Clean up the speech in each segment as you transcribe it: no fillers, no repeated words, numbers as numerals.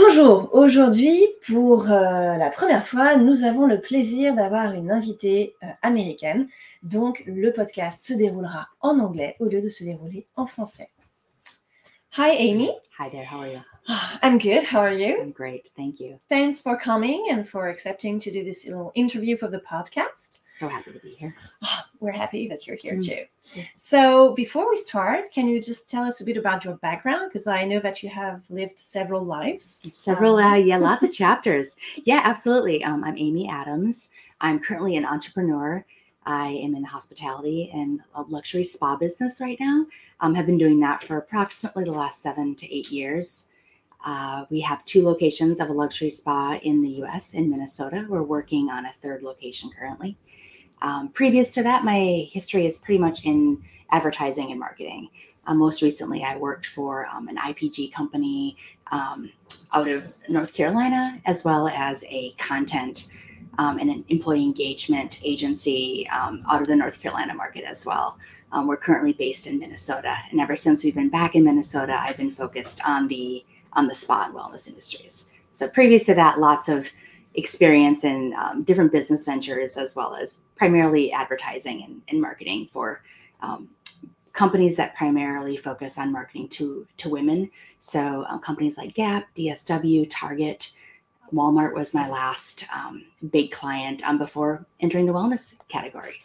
Bonjour, aujourd'hui pour la première fois, nous avons le plaisir d'avoir une invitée américaine. Donc le podcast se déroulera en anglais au lieu de se dérouler en français. Hi Amy. Hi there, how are you? I'm good, how are you? I'm great, thank you. Thanks for coming and for accepting to do this little interview for the podcast. So happy to be here. We're happy that you're here too. So before we start, can you just tell us a bit about your background? Because I know that you have lived several lives. Lots of chapters. Yeah, absolutely. I'm Amy Adams. I'm currently an entrepreneur. I am in the hospitality and luxury spa business right now. Have been doing that for approximately the last 7 to 8 years. We have 2 locations of a luxury spa in the US, in Minnesota. We're working on a 3rd location currently. Previous to that, my history is pretty much in advertising and marketing. Most recently, I worked for an IPG company out of North Carolina, as well as a content and an employee engagement agency out of the North Carolina market as well. We're currently based in Minnesota, and ever since we've been back in Minnesota, I've been focused on the spa and wellness industries. So previous to that, lots of experience in different business ventures, as well as primarily advertising and marketing for companies that primarily focus on marketing to women. So companies like Gap, DSW, Target, Walmart was my last big client before entering the wellness category.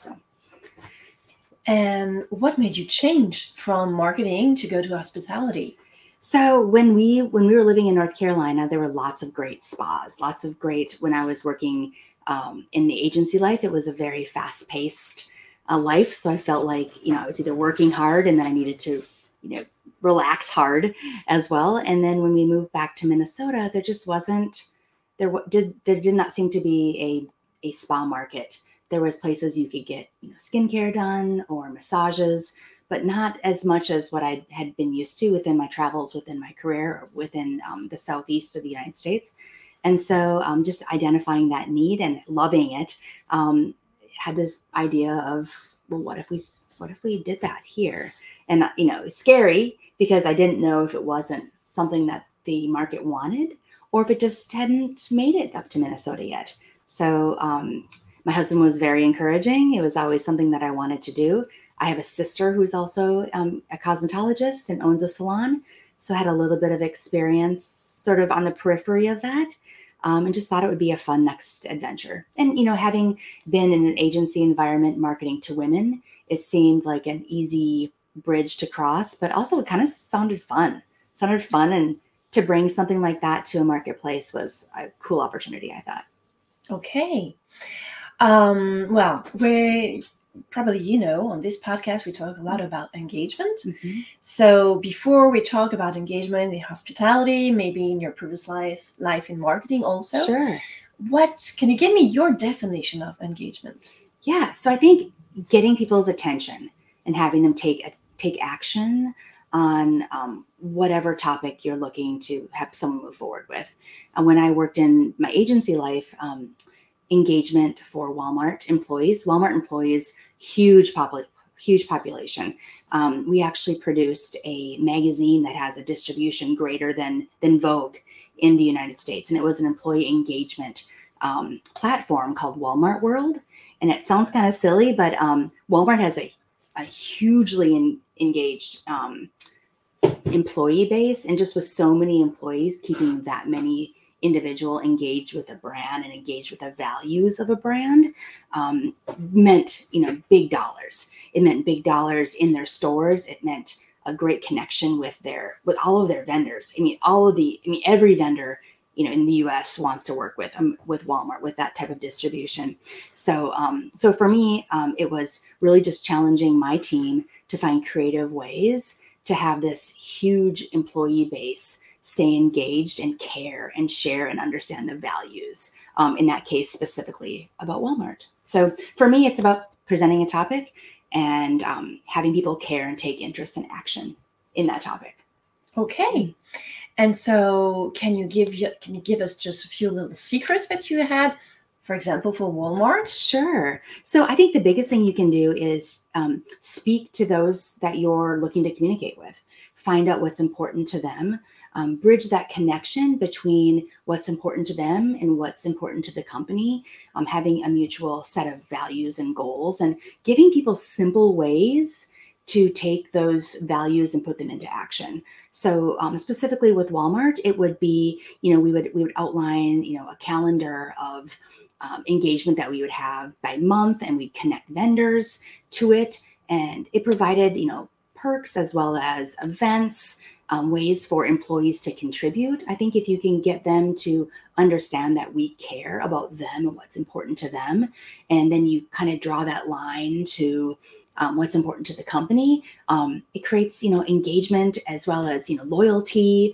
And what made you change from marketing to go to hospitality? So when we were living in North Carolina, there were lots of great spas, when I was working in the agency life, it was a very fast-paced life. So I felt like, I was either working hard and then I needed to, relax hard as well. And then when we moved back to Minnesota, there just wasn't, there did not seem to be a spa market. There was places you could get, skincare done or massages, but not as much as what I had been used to within my travels, within my career, or within the Southeast of the United States. And so just identifying that need and loving it, had this idea of, well, what if we did that here? And, it was scary because I didn't know if it wasn't something that the market wanted or if it just hadn't made it up to Minnesota yet. So my husband was very encouraging. It was always something that I wanted to do. I have a sister who's also a cosmetologist and owns a salon. So I had a little bit of experience sort of on the periphery of that, and just thought it would be a fun next adventure. And, having been in an agency environment marketing to women, it seemed like an easy bridge to cross, but also it kind of sounded fun. And to bring something like that to a marketplace was a cool opportunity, I thought. Okay. Well, probably, on this podcast, we talk a lot about engagement. Mm-hmm. So before we talk about engagement in hospitality, maybe in your previous life in marketing also. Sure. Can you give me your definition of engagement? Yeah. So I think getting people's attention and having them take action on whatever topic you're looking to have someone move forward with. And when I worked in my agency life, engagement for Walmart employees, huge population. We actually produced a magazine that has a distribution greater than Vogue in the United States. And it was an employee engagement platform called Walmart World. And it sounds kind of silly, but Walmart has a hugely engaged employee base. And just with so many employees, keeping that many individual engaged with a brand and engaged with the values of a brand meant, big dollars. It meant big dollars in their stores. It meant a great connection with all of their vendors. Every vendor, in the US wants to work with Walmart, with that type of distribution. So for me, it was really just challenging my team to find creative ways to have this huge employee base stay engaged and care and share and understand the values, in that case specifically about Walmart. So for me, it's about presenting a topic and having people care and take interest and action in that topic. Okay. And so can you give us just a few little secrets that you had for example, for Walmart? Sure. So I think the biggest thing you can do is speak to those that you're looking to communicate with. Find out what's important to them. Bridge that connection between what's important to them and what's important to the company. Having a mutual set of values and goals, and giving people simple ways to take those values and put them into action. So specifically with Walmart, it would be, we would outline, a calendar of engagement that we would have by month, and we'd connect vendors to it. And it provided, perks as well as events, ways for employees to contribute. I think if you can get them to understand that we care about them and what's important to them, and then you kind of draw that line to what's important to the company, it creates, engagement as well as, loyalty.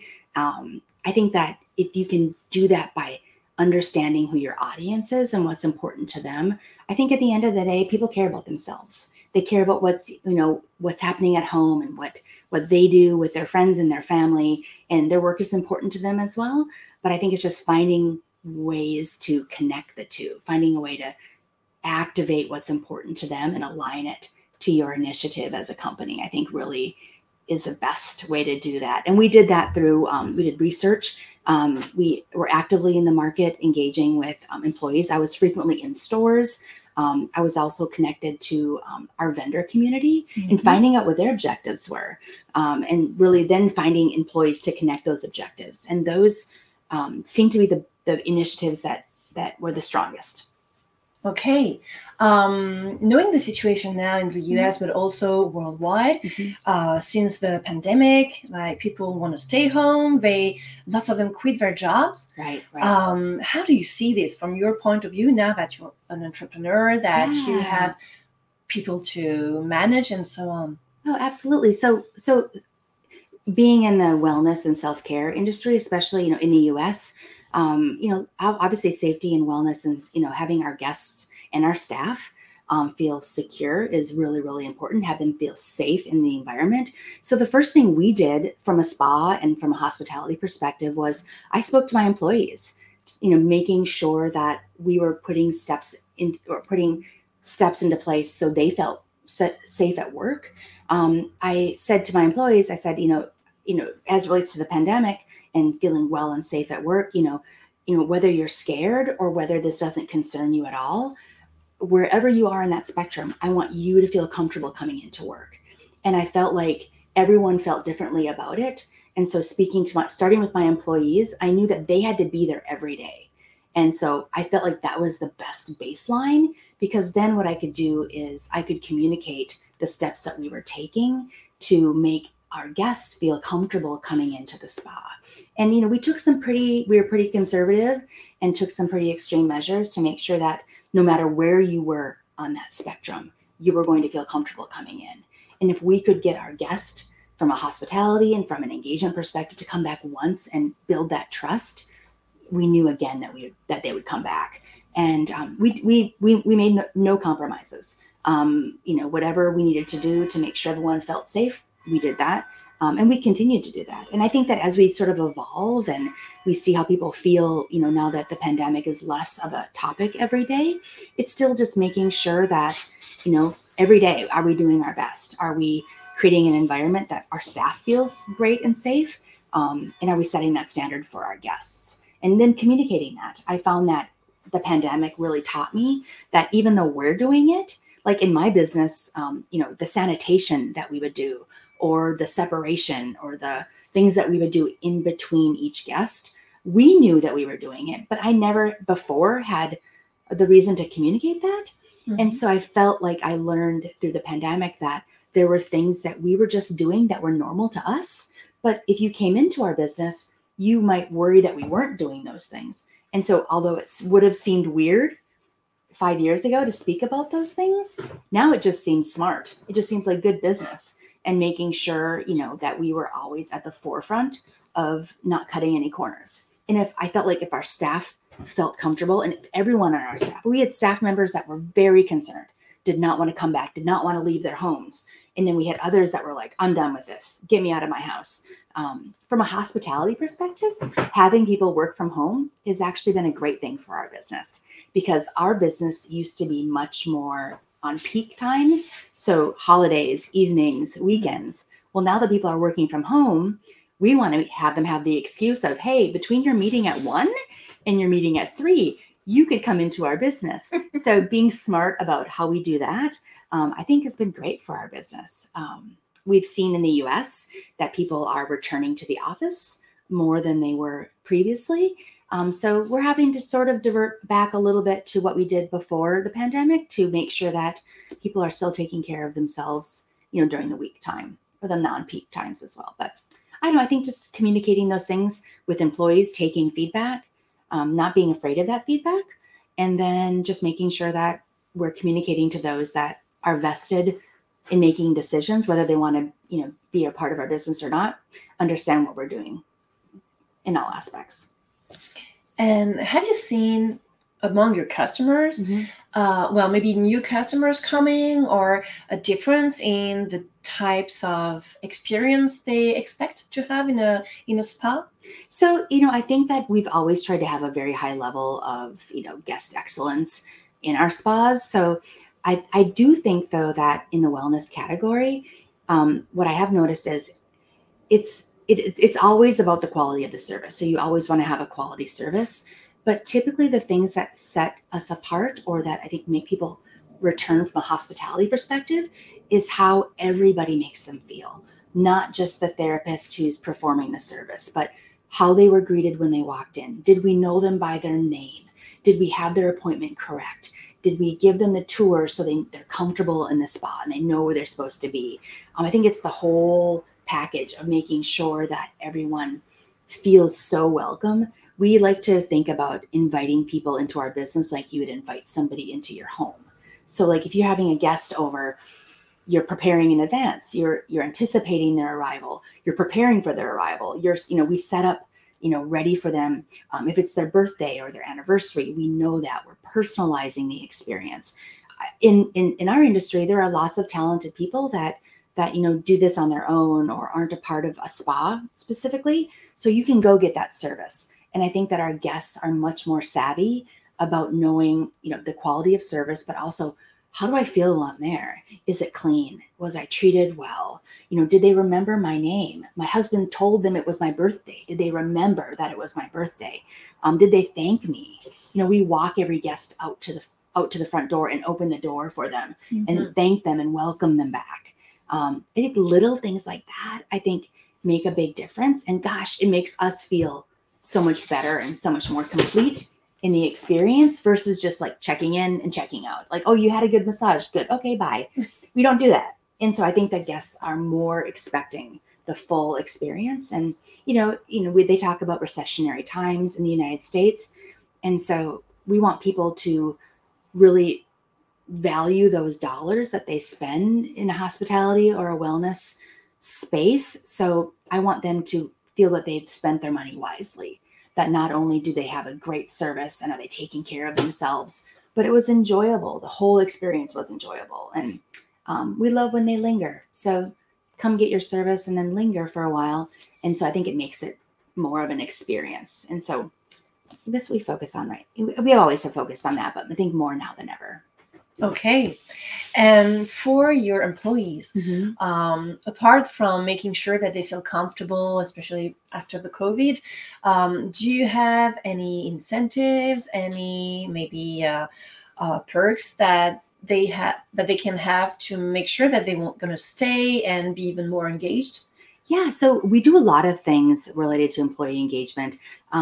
I think that if you can do that by understanding who your audience is and what's important to them, I think at the end of the day, people care about themselves. They care about what's happening at home and what they do with their friends and their family, and their work is important to them as well. But I think it's just finding ways to connect the two, finding a way to activate what's important to them and align it to your initiative as a company, I think really is the best way to do that. And we did that through, we did research. We were actively in the market, engaging with employees. I was frequently in stores. I was also connected to our vendor community and finding out what their objectives were, and really then finding employees to connect those objectives. And those seem to be the initiatives that were the strongest. Okay. Knowing the situation now in the US, but also worldwide, since the pandemic, like people want to stay home, lots of them quit their jobs. Right. How do you see this from your point of view now that you're an entrepreneur, that you have people to manage and so on? Oh, absolutely. So being in the wellness and self-care industry, especially, in the US, obviously safety and wellness and, having our guests and our staff feel secure is really, really important. Have them feel safe in the environment. So the first thing we did from a spa and from a hospitality perspective was I spoke to my employees, making sure that we were putting steps into place so they felt safe at work. I said to my employees, I said, as it relates to the pandemic and feeling well and safe at work, whether you're scared or whether this doesn't concern you at all, wherever you are in that spectrum, I want you to feel comfortable coming into work. And I felt like everyone felt differently about it. And so starting with my employees, I knew that they had to be there every day. And so I felt like that was the best baseline, because then what I could do is I could communicate the steps that we were taking to make our guests feel comfortable coming into the spa. And, we were pretty conservative and took some pretty extreme measures to make sure that no matter where you were on that spectrum, you were going to feel comfortable coming in. And if we could get our guest from a hospitality and from an engagement perspective to come back once and build that trust, we knew again that they would come back. And we made no compromises. Whatever we needed to do to make sure everyone felt safe, we did that. And we continued to do that. And I think that as we sort of evolve and we see how people feel, now that the pandemic is less of a topic every day, it's still just making sure that, every day, are we doing our best? Are we creating an environment that our staff feels great and safe? And are we setting that standard for our guests? And then communicating that. I found that the pandemic really taught me that even though we're doing it, like in my business, the sanitation that we would do, or the separation, or the things that we would do in between each guest, we knew that we were doing it, but I never before had the reason to communicate that. And so I felt like I learned through the pandemic that there were things that we were just doing that were normal to us. But if you came into our business, you might worry that we weren't doing those things. And so although it would have seemed weird 5 years ago to speak about those things, now it just seems smart. It just seems like good business, and making sure, that we were always at the forefront of not cutting any corners. And if our staff felt comfortable, and everyone on our staff, we had staff members that were very concerned, did not want to come back, did not want to leave their homes. And then we had others that were like, I'm done with this. Get me out of my house. From a hospitality perspective, having people work from home has actually been a great thing for our business, because our business used to be much more on peak times. So holidays, evenings, weekends. Well, now that people are working from home, we want to have them have the excuse of, hey, between your meeting at 1 and your meeting at 3, you could come into our business. So being smart about how we do that, I think has been great for our business. We've seen in the US that people are returning to the office more than they were previously. So we're having to sort of divert back a little bit to what we did before the pandemic to make sure that people are still taking care of themselves, during the week time or the non-peak times as well. But I don't know, I think just communicating those things with employees, taking feedback, not being afraid of that feedback, and then just making sure that we're communicating to those that are vested in making decisions, whether they want to, be a part of our business or not, understand what we're doing in all aspects. And have you seen among your customers, maybe new customers coming, or a difference in the types of experience they expect to have in a spa? So, I think that we've always tried to have a very high level of, guest excellence in our spas. So I do think, though, that in the wellness category, what I have noticed is it's always about the quality of the service. So you always want to have a quality service. But typically the things that set us apart, or that I think make people return from a hospitality perspective, is how everybody makes them feel. Not just the therapist who's performing the service, but how they were greeted when they walked in. Did we know them by their name? Did we have their appointment correct? Did we give them the tour so they're comfortable in the spa and they know where they're supposed to be? I think it's the whole package of making sure that everyone feels so welcome. We like to think about inviting people into our business like you would invite somebody into your home. So like if you're having a guest over, you're preparing in advance, you're anticipating their arrival, you're preparing for their arrival. We set up, ready for them. If it's their birthday or their anniversary, we know that we're personalizing the experience. In our industry, there are lots of talented people that do this on their own or aren't a part of a spa specifically. So you can go get that service. And I think that our guests are much more savvy about knowing, the quality of service, but also, how do I feel while I'm there? Is it clean? Was I treated well? Did they remember my name? My husband told them it was my birthday. Did they remember that it was my birthday? Did they thank me? We walk every guest out to the front door and open the door for them and thank them and welcome them back. I think little things like that, I think, make a big difference. And gosh, it makes us feel so much better and so much more complete in the experience versus just like checking in and checking out. Like, oh, you had a good massage. Good. Okay, bye. We don't do that. And so I think that guests are more expecting the full experience. And, they talk about recessionary times in the United States. And so we want people to really value those dollars that they spend in a hospitality or a wellness space. So I want them to feel that they've spent their money wisely, that not only do they have a great service and are they taking care of themselves, but it was enjoyable. The whole experience was enjoyable. And we love when they linger. So come get your service and then linger for a while. And so I think it makes it more of an experience. And so that's what we focus on, right? We always have focused on that, but I think more now than ever. Okay. And for your employees, apart from making sure that they feel comfortable, especially after the COVID, do you have any incentives, any maybe perks that they can have to make sure that they won't going to stay and be even more engaged? Yeah, so we do a lot of things related to employee engagement.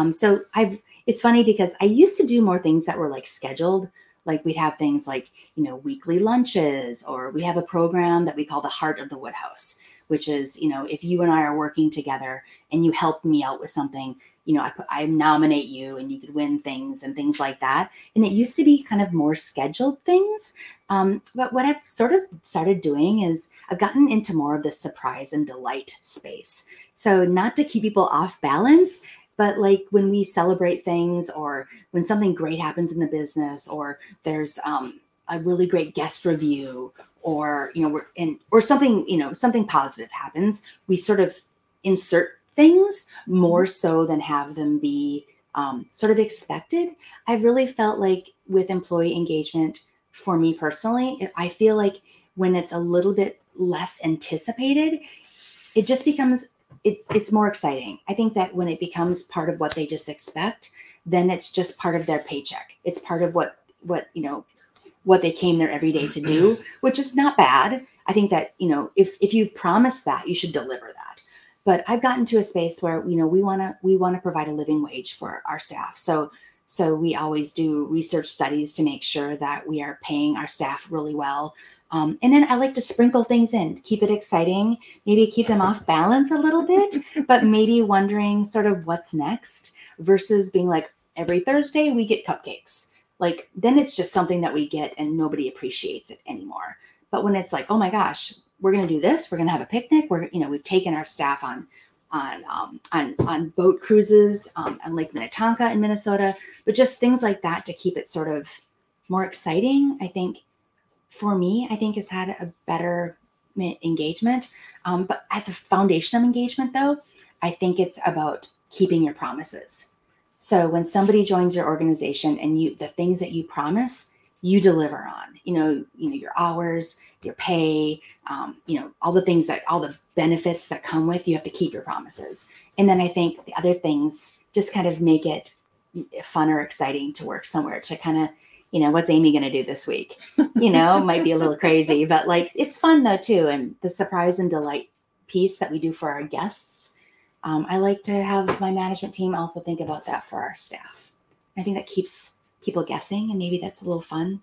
It's funny because I used to do more things that were like scheduled. Like we'd have things like, weekly lunches, or we have a program that we call the Heart of the Woodhouse, which is, if you and I are working together and you help me out with something, I nominate you and you could win things and things like that. And it used to be kind of more scheduled things. But what I've sort of started doing is I've gotten into more of the surprise and delight space. So not to keep people off balance, but like when we celebrate things, or when something great happens in the business, or there's a really great guest review, or, or something, something positive happens, we sort of insert things more so than have them be sort of expected. I've really felt like with employee engagement, for me personally, I feel like when it's a little bit less anticipated, it just becomes, it's more exciting. I think that when it becomes part of what they just expect, then it's just part of their paycheck. It's part of what they came there every day to do, which is not bad. I think that, if you've promised that, you should deliver that. But I've gotten to a space where, we want to provide a living wage for our staff. So we always do research studies to make sure that we are paying our staff really well. And then I like to sprinkle things in, keep it exciting, maybe keep them off balance a little bit, but maybe wondering sort of what's next versus being like, every Thursday we get cupcakes. Like, then it's just something that we get and nobody appreciates it anymore. But when it's like, oh my gosh, we're going to do this, we're going to have a picnic. We've taken our staff on boat cruises on Lake Minnetonka in Minnesota, but just things like that to keep it sort of more exciting. I think for me, has had a better engagement. But at the foundation of engagement, though, I think it's about keeping your promises. So when somebody joins your organization and the things that you promise, you deliver on, your hours, your pay, all the benefits that come with, you have to keep your promises. And then I think the other things just kind of make it fun or exciting to work somewhere, to kind of, what's Amy going to do this week? Might be a little crazy, but like, it's fun though too. And the surprise and delight piece that we do for our guests, I like to have my management team also think about that for our staff. I think that keeps people guessing, and maybe that's a little fun.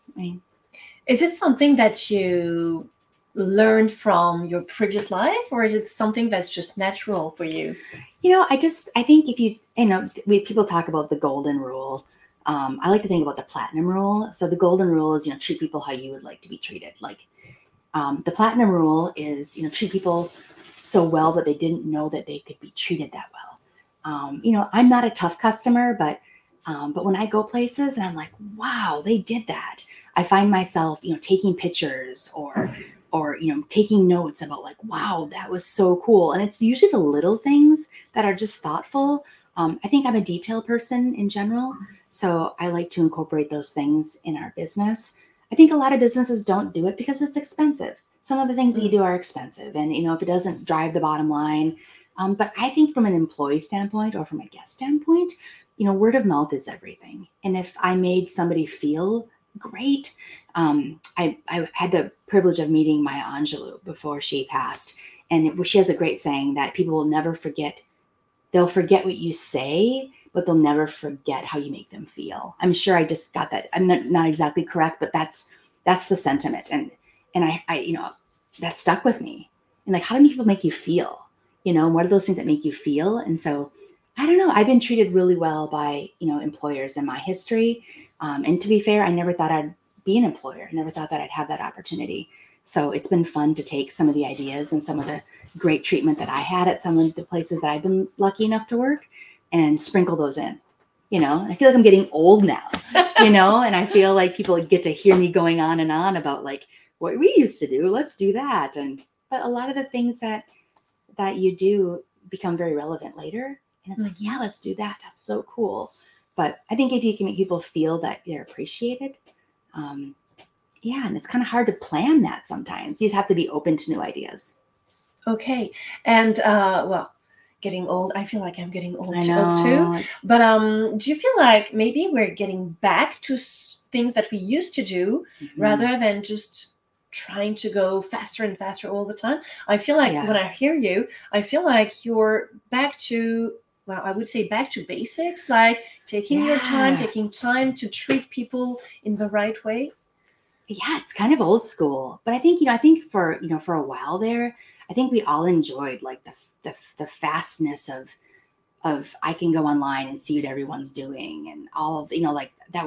Is it something that you learned from your previous life, or is it something that's just natural for you? I think if people talk about the golden rule. I like to think about the platinum rule. So the golden rule is, treat people how you would like to be treated. Like the platinum rule is, treat people so well that they didn't know that they could be treated that well. I'm not a tough customer, but when I go places and I'm like, wow, they did that, I find myself, taking pictures or taking notes about like, wow, that was so cool. And it's usually the little things that are just thoughtful. I think I'm a detail person in general, so I like to incorporate those things in our business. I think a lot of businesses don't do it because it's expensive. Some of the things that you do are expensive, and if it doesn't drive the bottom line. But I think from an employee standpoint or from a guest standpoint, word of mouth is everything. And if I made somebody feel great, I had the privilege of meeting Maya Angelou before she passed, and she has a great saying that people will never forget. They'll forget what you say, but they'll never forget how you make them feel. I'm sure I just got that. I'm not exactly correct, but that's the sentiment. And I that stuck with me. And like, how do people make you feel? What are those things that make you feel? And so, I don't know. I've been treated really well by, employers in my history. And to be fair, I never thought I'd be an employer. I never thought that I'd have that opportunity. So it's been fun to take some of the ideas and some of the great treatment that I had at some of the places that I've been lucky enough to work and sprinkle those in. I feel like I'm getting old now, and I feel like people get to hear me going on and on about like what we used to do. Let's do that. But a lot of the things that you do become very relevant later. And it's like, yeah, let's do that. That's so cool. But I think if you can make people feel that they're appreciated, and it's kind of hard to plan that sometimes. You just have to be open to new ideas. Okay. And getting old, I feel like I'm getting old too. But do you feel like maybe we're getting back to things that we used to do rather than just trying to go faster and faster all the time? I feel like when I hear you, I feel like you're back to, I would say back to basics, like taking your time, taking time to treat people in the right way. Yeah, it's kind of old school, but I think for a while there, I think we all enjoyed like the fastness of I can go online and see what everyone's doing, and all of like there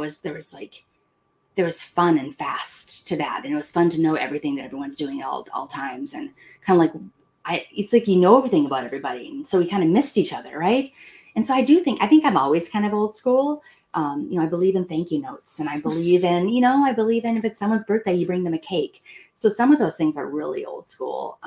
was fun and fast to that, and it was fun to know everything that everyone's doing at all times, and kind of like it's like everything about everybody, and so we kind of missed each other, right? And so I think I'm always kind of old school. I believe in thank you notes, and I believe in if it's someone's birthday, you bring them a cake. So some of those things are really old school.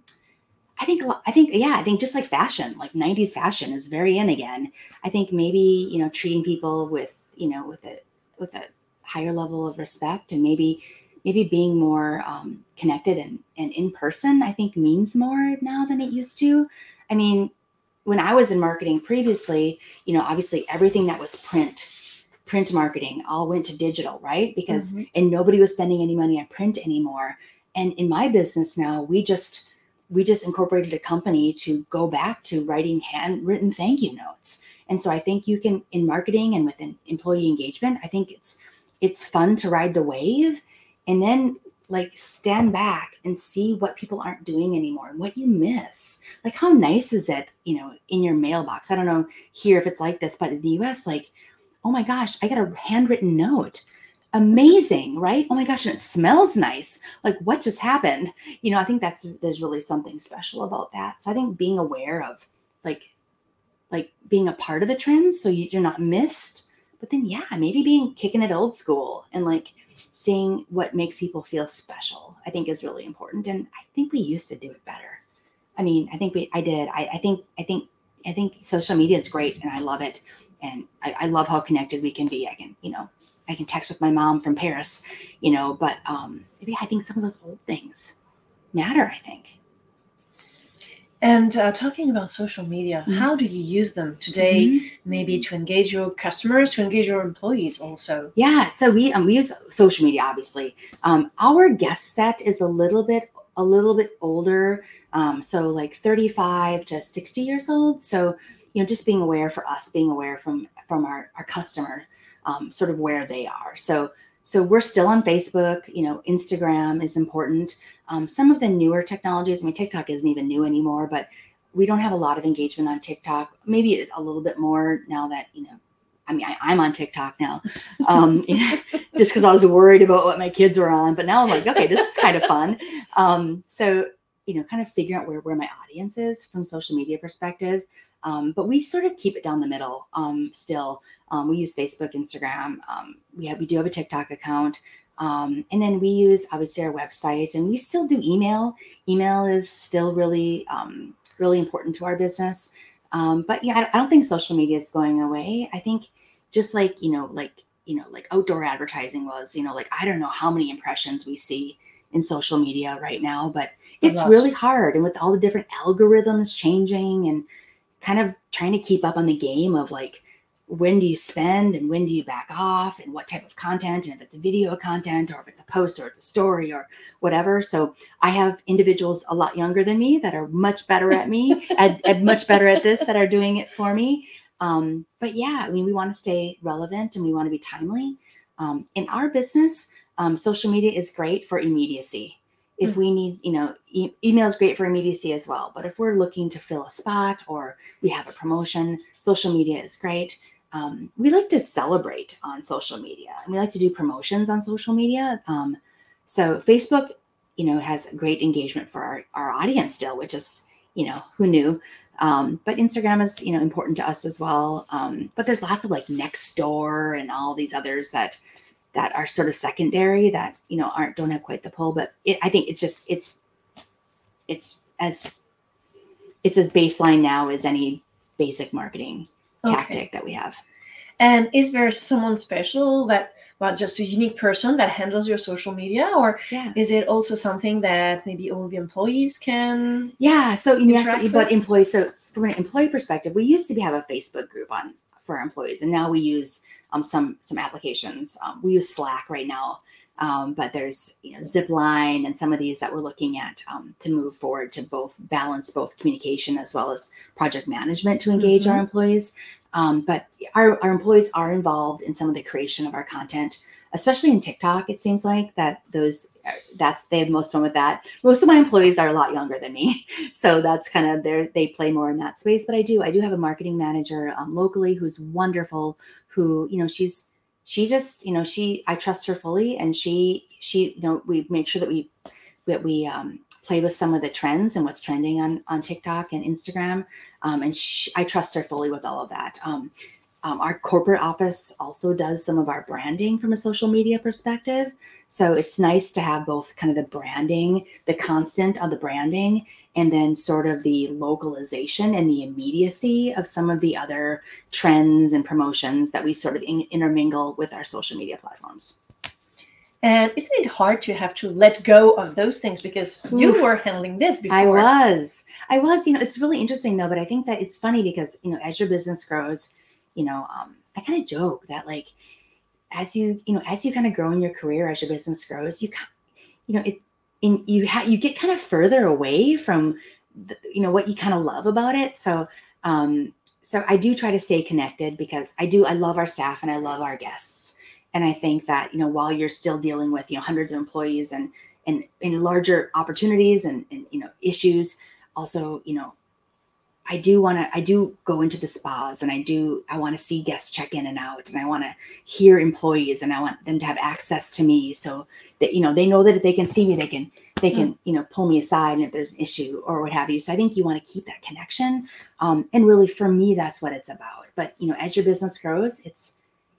I think just like fashion, like 90s fashion is very in again. I think maybe, treating people with a higher level of respect, and maybe being more connected and in person, I think means more now than it used to. I mean, when I was in marketing previously, obviously everything that was print marketing all went to digital, right? Because, and nobody was spending any money on print anymore. And in my business now, we just incorporated a company to go back to writing handwritten thank you notes. And so I think you can, in marketing and within employee engagement, I think it's fun to ride the wave and then like stand back and see what people aren't doing anymore and what you miss. Like, how nice is it, in your mailbox? I don't know here if it's like this, but in the US, like, oh my gosh, I got a handwritten note. Amazing, right? Oh my gosh, and it smells nice. Like, what just happened? I think there's really something special about that. So I think being aware of like being a part of the trends so you're not missed, but then maybe kicking it old school and like seeing what makes people feel special, I think is really important. And I think we used to do it better. I mean, I did. I think social media is great and I love it. And I love how connected we can be. I can text with my mom from Paris, but maybe I think some of those old things matter, I think. And talking about social media, how do you use them today, maybe to engage your customers, to engage your employees also? Yeah, so we use social media, obviously. Our guest set is a little bit older, so like 35 to 60 years old. So, just being aware from our customer, sort of where they are. So we're still on Facebook, Instagram is important. Some of the newer technologies, I mean, TikTok isn't even new anymore, but we don't have a lot of engagement on TikTok. Maybe it's a little bit more now that, I'm on TikTok now, just because I was worried about what my kids were on. But now I'm like, okay, this is kind of fun. So, kind of figuring out where my audience is from social media perspective. But we sort of keep it down the middle still. We use Facebook, Instagram. We do have a TikTok account. And then we use obviously our website, and we still do email. Email is still really, really important to our business. But I don't think social media is going away. I think just like outdoor advertising was, I don't know how many impressions we see in social media right now, but it's really hard. And with all the different algorithms changing and kind of trying to keep up on the game of like, when do you spend and when do you back off and what type of content, and if it's video content or if it's a post or it's a story or whatever. So I have individuals a lot younger than me that are much better at me, much better at this, that are doing it for me. But we want to stay relevant and we want to be timely. In our business, social media is great for immediacy. If we need, email is great for immediacy as well. But if we're looking to fill a spot or we have a promotion, social media is great. We like to celebrate on social media, and we like to do promotions on social media. So Facebook, has great engagement for our audience still, which is, who knew? But Instagram is, important to us as well. But there's lots of like Nextdoor and all these others that are sort of secondary that, don't have quite the pull, but I think it's as baseline now as any basic marketing tactic that we have. And is there someone special just a unique person that handles your social media, or is it also something that maybe all the employees can? Yeah. So, but employees, so from an employee perspective, we used to have a Facebook group for our employees, and now we use some applications. We use Slack right now, but there's Zipline and some of these that we're looking at to move forward to balance both communication as well as project management to engage our employees. But our employees are involved in some of the creation of our content, especially in TikTok. It seems like they have most fun with that. Most of my employees are a lot younger than me, so that's kind of they play more in that space. But I do have a marketing manager locally who's wonderful. Who I trust her fully, and she we make sure that we play with some of the trends and what's trending on TikTok and Instagram. And I trust her fully with all of that. Our corporate office also does some of our branding from a social media perspective. So it's nice to have both kind of the branding, the constant of the branding, and then sort of the localization and the immediacy of some of the other trends and promotions that we sort of intermingle with our social media platforms. And isn't it hard to have to let go of those things because you Oof. were handling this before? I was, it's really interesting though, but I think that it's funny because, as your business grows, I kind of joke that like, as you kind of grow in your career, as your business grows, you get kind of further away from, what you kind of love about it. So I do try to stay connected because I love our staff and I love our guests. And I think that, while you're still dealing with, hundreds of employees and in larger opportunities and issues, also, I do go into the spas and I want to see guests check in and out, and I want to hear employees, and I want them to have access to me so that, they know that if they can see me, they can, pull me aside and if there's an issue or what have you. So I think you want to keep that connection. And really for me, that's what it's about. But, as your business grows, it's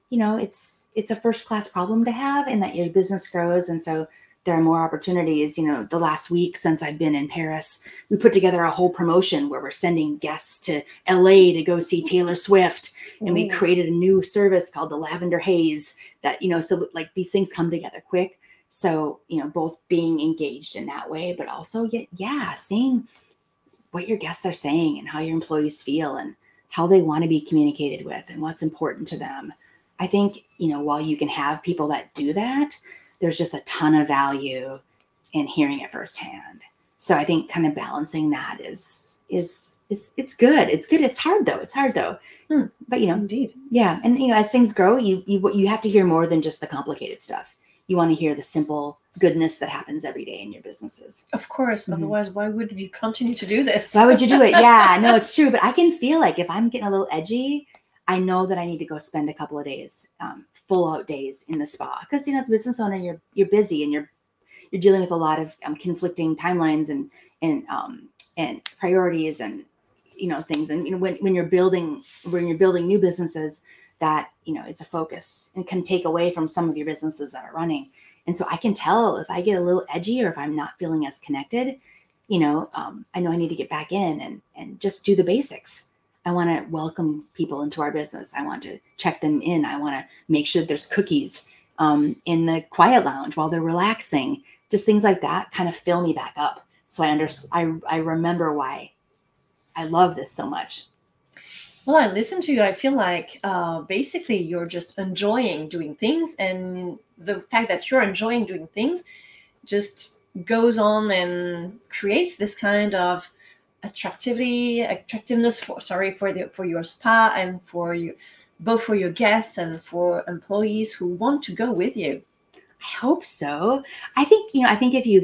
a first class problem to have, and that your business grows. And so there are more opportunities. The last week since I've been in Paris, we put together a whole promotion where we're sending guests to LA to go see Taylor Swift. And we created a new service called the Lavender Haze that, so like these things come together quick. So, both being engaged in that way, but also, seeing what your guests are saying and how your employees feel and how they want to be communicated with and what's important to them. I think, while you can have people that do that, there's just a ton of value in hearing it firsthand. So I think kind of balancing that is it's good. It's good. It's hard though. But Indeed. yeah. And as things grow, you have to hear more than just the complicated stuff. You want to hear the simple goodness that happens every day in your businesses. Of course. Mm-hmm. Otherwise, why would you continue to do this? Why would you do it? Yeah, no, it's true. But I can feel like if I'm getting a little edgy, I know that I need to go spend a couple of days, full out days in the spa, because as a business owner, you're busy and you're dealing with a lot of conflicting timelines and priorities and things. And when you're building new businesses, that it's a focus and can take away from some of your businesses that are running. And so I can tell if I get a little edgy or if I'm not feeling as connected, I know I need to get back in and just do the basics. I want to welcome people into our business. I want to check them in. I want to make sure there's cookies in the quiet lounge while they're relaxing. Just things like that kind of fill me back up. So I remember why I love this so much. Well, I listen to you. I feel like basically you're just enjoying doing things. And the fact that you're enjoying doing things just goes on and creates this kind of attractiveness for your spa and for you, both for your guests and for employees who want to go with you. I hope so. I think if you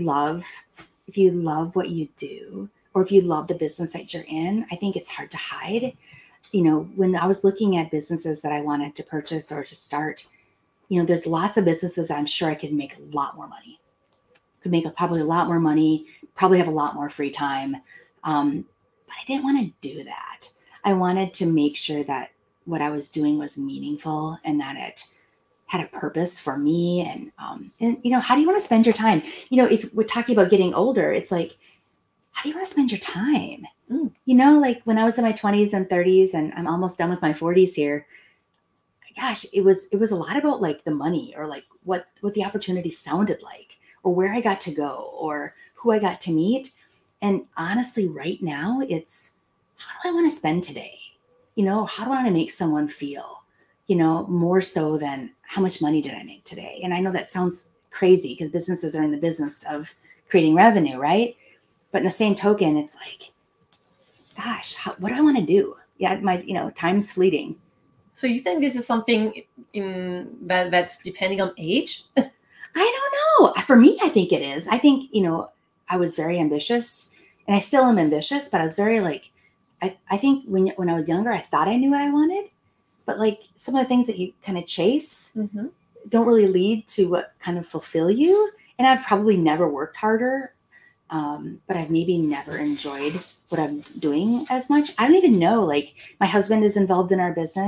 love what you do, or if you love the business that you're in, I think it's hard to hide. When I was looking at businesses that I wanted to purchase or to start, there's lots of businesses that I'm sure I could make a lot more money. Probably a lot more money, probably have a lot more free time. But I didn't want to do that. I wanted to make sure that what I was doing was meaningful and that it had a purpose for me. And how do you want to spend your time? If we're talking about getting older, it's like, how do you want to spend your time? Like when I was in my 20s and 30s and I'm almost done with my 40s here, gosh, it was a lot about like the money or like what the opportunity sounded like or where I got to go or who I got to meet. And honestly, right now, it's how do I want to spend today? How do I want to make someone feel, more so than how much money did I make today? And I know that sounds crazy because businesses are in the business of creating revenue, right? But in the same token, it's like, gosh, what do I want to do? Yeah, time's fleeting. So you think this is something that's depending on age? I don't know. For me, I think it is. I think, I was very ambitious and I still am ambitious, but I was very like, I think when I was younger, I thought I knew what I wanted, but like some of the things that you kind of chase don't really lead to what kind of fulfill you. And I've probably never worked harder, but I've maybe never enjoyed what I'm doing as much. I don't even know, like my husband is involved in our business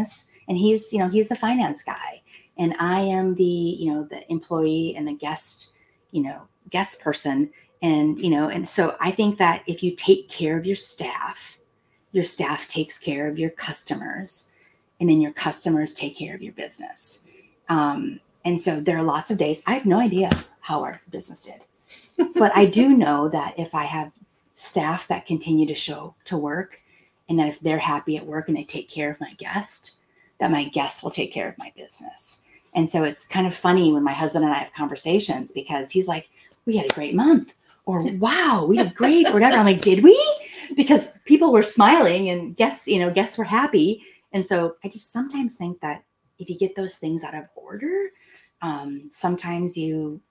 and he's the finance guy, and I am the employee and the guest person. And so I think that if you take care of your staff takes care of your customers, and then your customers take care of your business. And so there are lots of days, I have no idea how our business did, but I do know that if I have staff that continue to show to work, and that if they're happy at work and they take care of my guest, that my guests will take care of my business. And so it's kind of funny when my husband and I have conversations, because he's like, we had a great month, or wow, we did great, or whatever. I'm like, did we? Because people were smiling and guests were happy. And so I just sometimes think that if you get those things out of order, sometimes it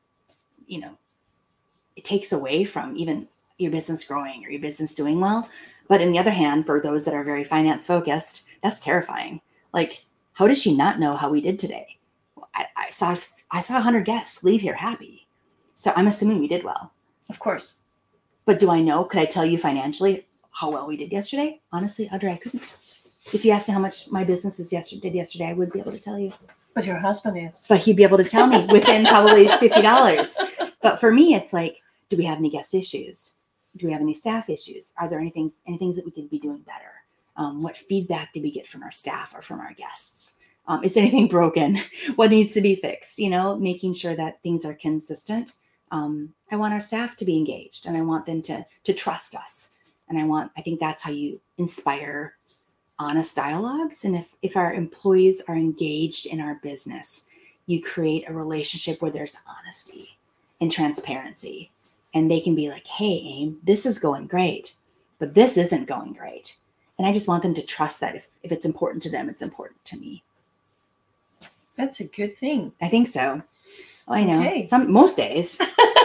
takes away from even your business growing or your business doing well. But on the other hand, for those that are very finance focused, that's terrifying. Like, how does she not know how we did today? I saw 100 guests leave here happy. So I'm assuming we did well. Of course. But do I know? Could I tell you financially how well we did yesterday? Honestly, Audrey, I couldn't. If you asked me how much my business did yesterday, I would be able to tell you. But your husband is. But he'd be able to tell me within probably $50. But for me, it's like, do we have any guest issues? Do we have any staff issues? Are there any things that we could be doing better? What feedback did we get from our staff or from our guests? Is there anything broken? What needs to be fixed? Making sure that things are consistent. I want our staff to be engaged, and I want them to trust us. And I think that's how you inspire honest dialogues. And if our employees are engaged in our business, you create a relationship where there's honesty and transparency. And they can be like, hey, Aim, this is going great, but this isn't going great. And I just want them to trust that if it's important to them, it's important to me. That's a good thing. I think so. Well, I know. Okay. Most days.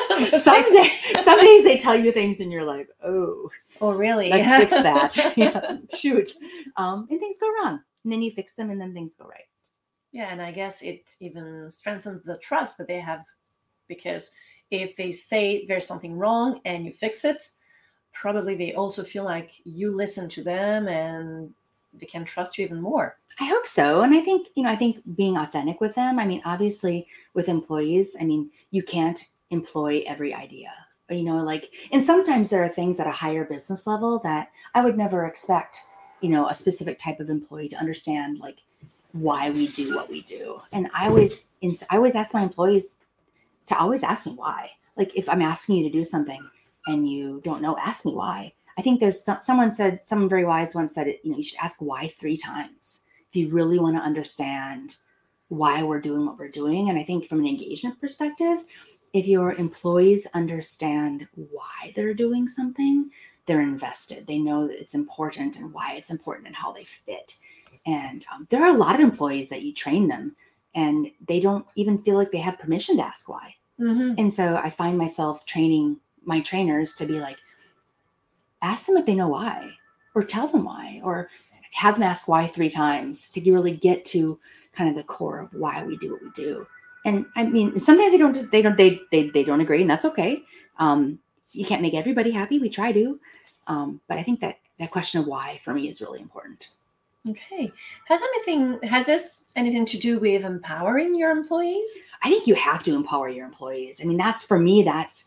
Some days they tell you things and you're like, oh, really? Let's fix that. Yeah, shoot. And things go wrong. And then you fix them and then things go right. Yeah, and I guess it even strengthens the trust that they have, because if they say there's something wrong and you fix it, probably they also feel like you listen to them and they can trust you even more. I hope so. And I think being authentic with them, obviously with employees, you can't employ every idea, and sometimes there are things at a higher business level that I would never expect, a specific type of employee to understand, like why we do what we do. And I always ask my employees to always ask me why. Like, if I'm asking you to do something and you don't know, ask me why. I think there's someone very wise once said it, you should ask why 3 times if you really want to understand why we're doing what we're doing. And I think from an engagement perspective, if your employees understand why they're doing something, they're invested. They know that it's important and why it's important and how they fit. And there are a lot of employees that you train them and they don't even feel like they have permission to ask why. Mm-hmm. And so I find myself training my trainers to be like, ask them if they know why, or tell them why, or have them ask why 3 times to really get to kind of the core of why we do what we do. And sometimes they don't agree, and that's okay. You can't make everybody happy. We try to, but I think that question of why for me is really important. Okay. Has this anything to do with empowering your employees? I think you have to empower your employees. That's for me, that's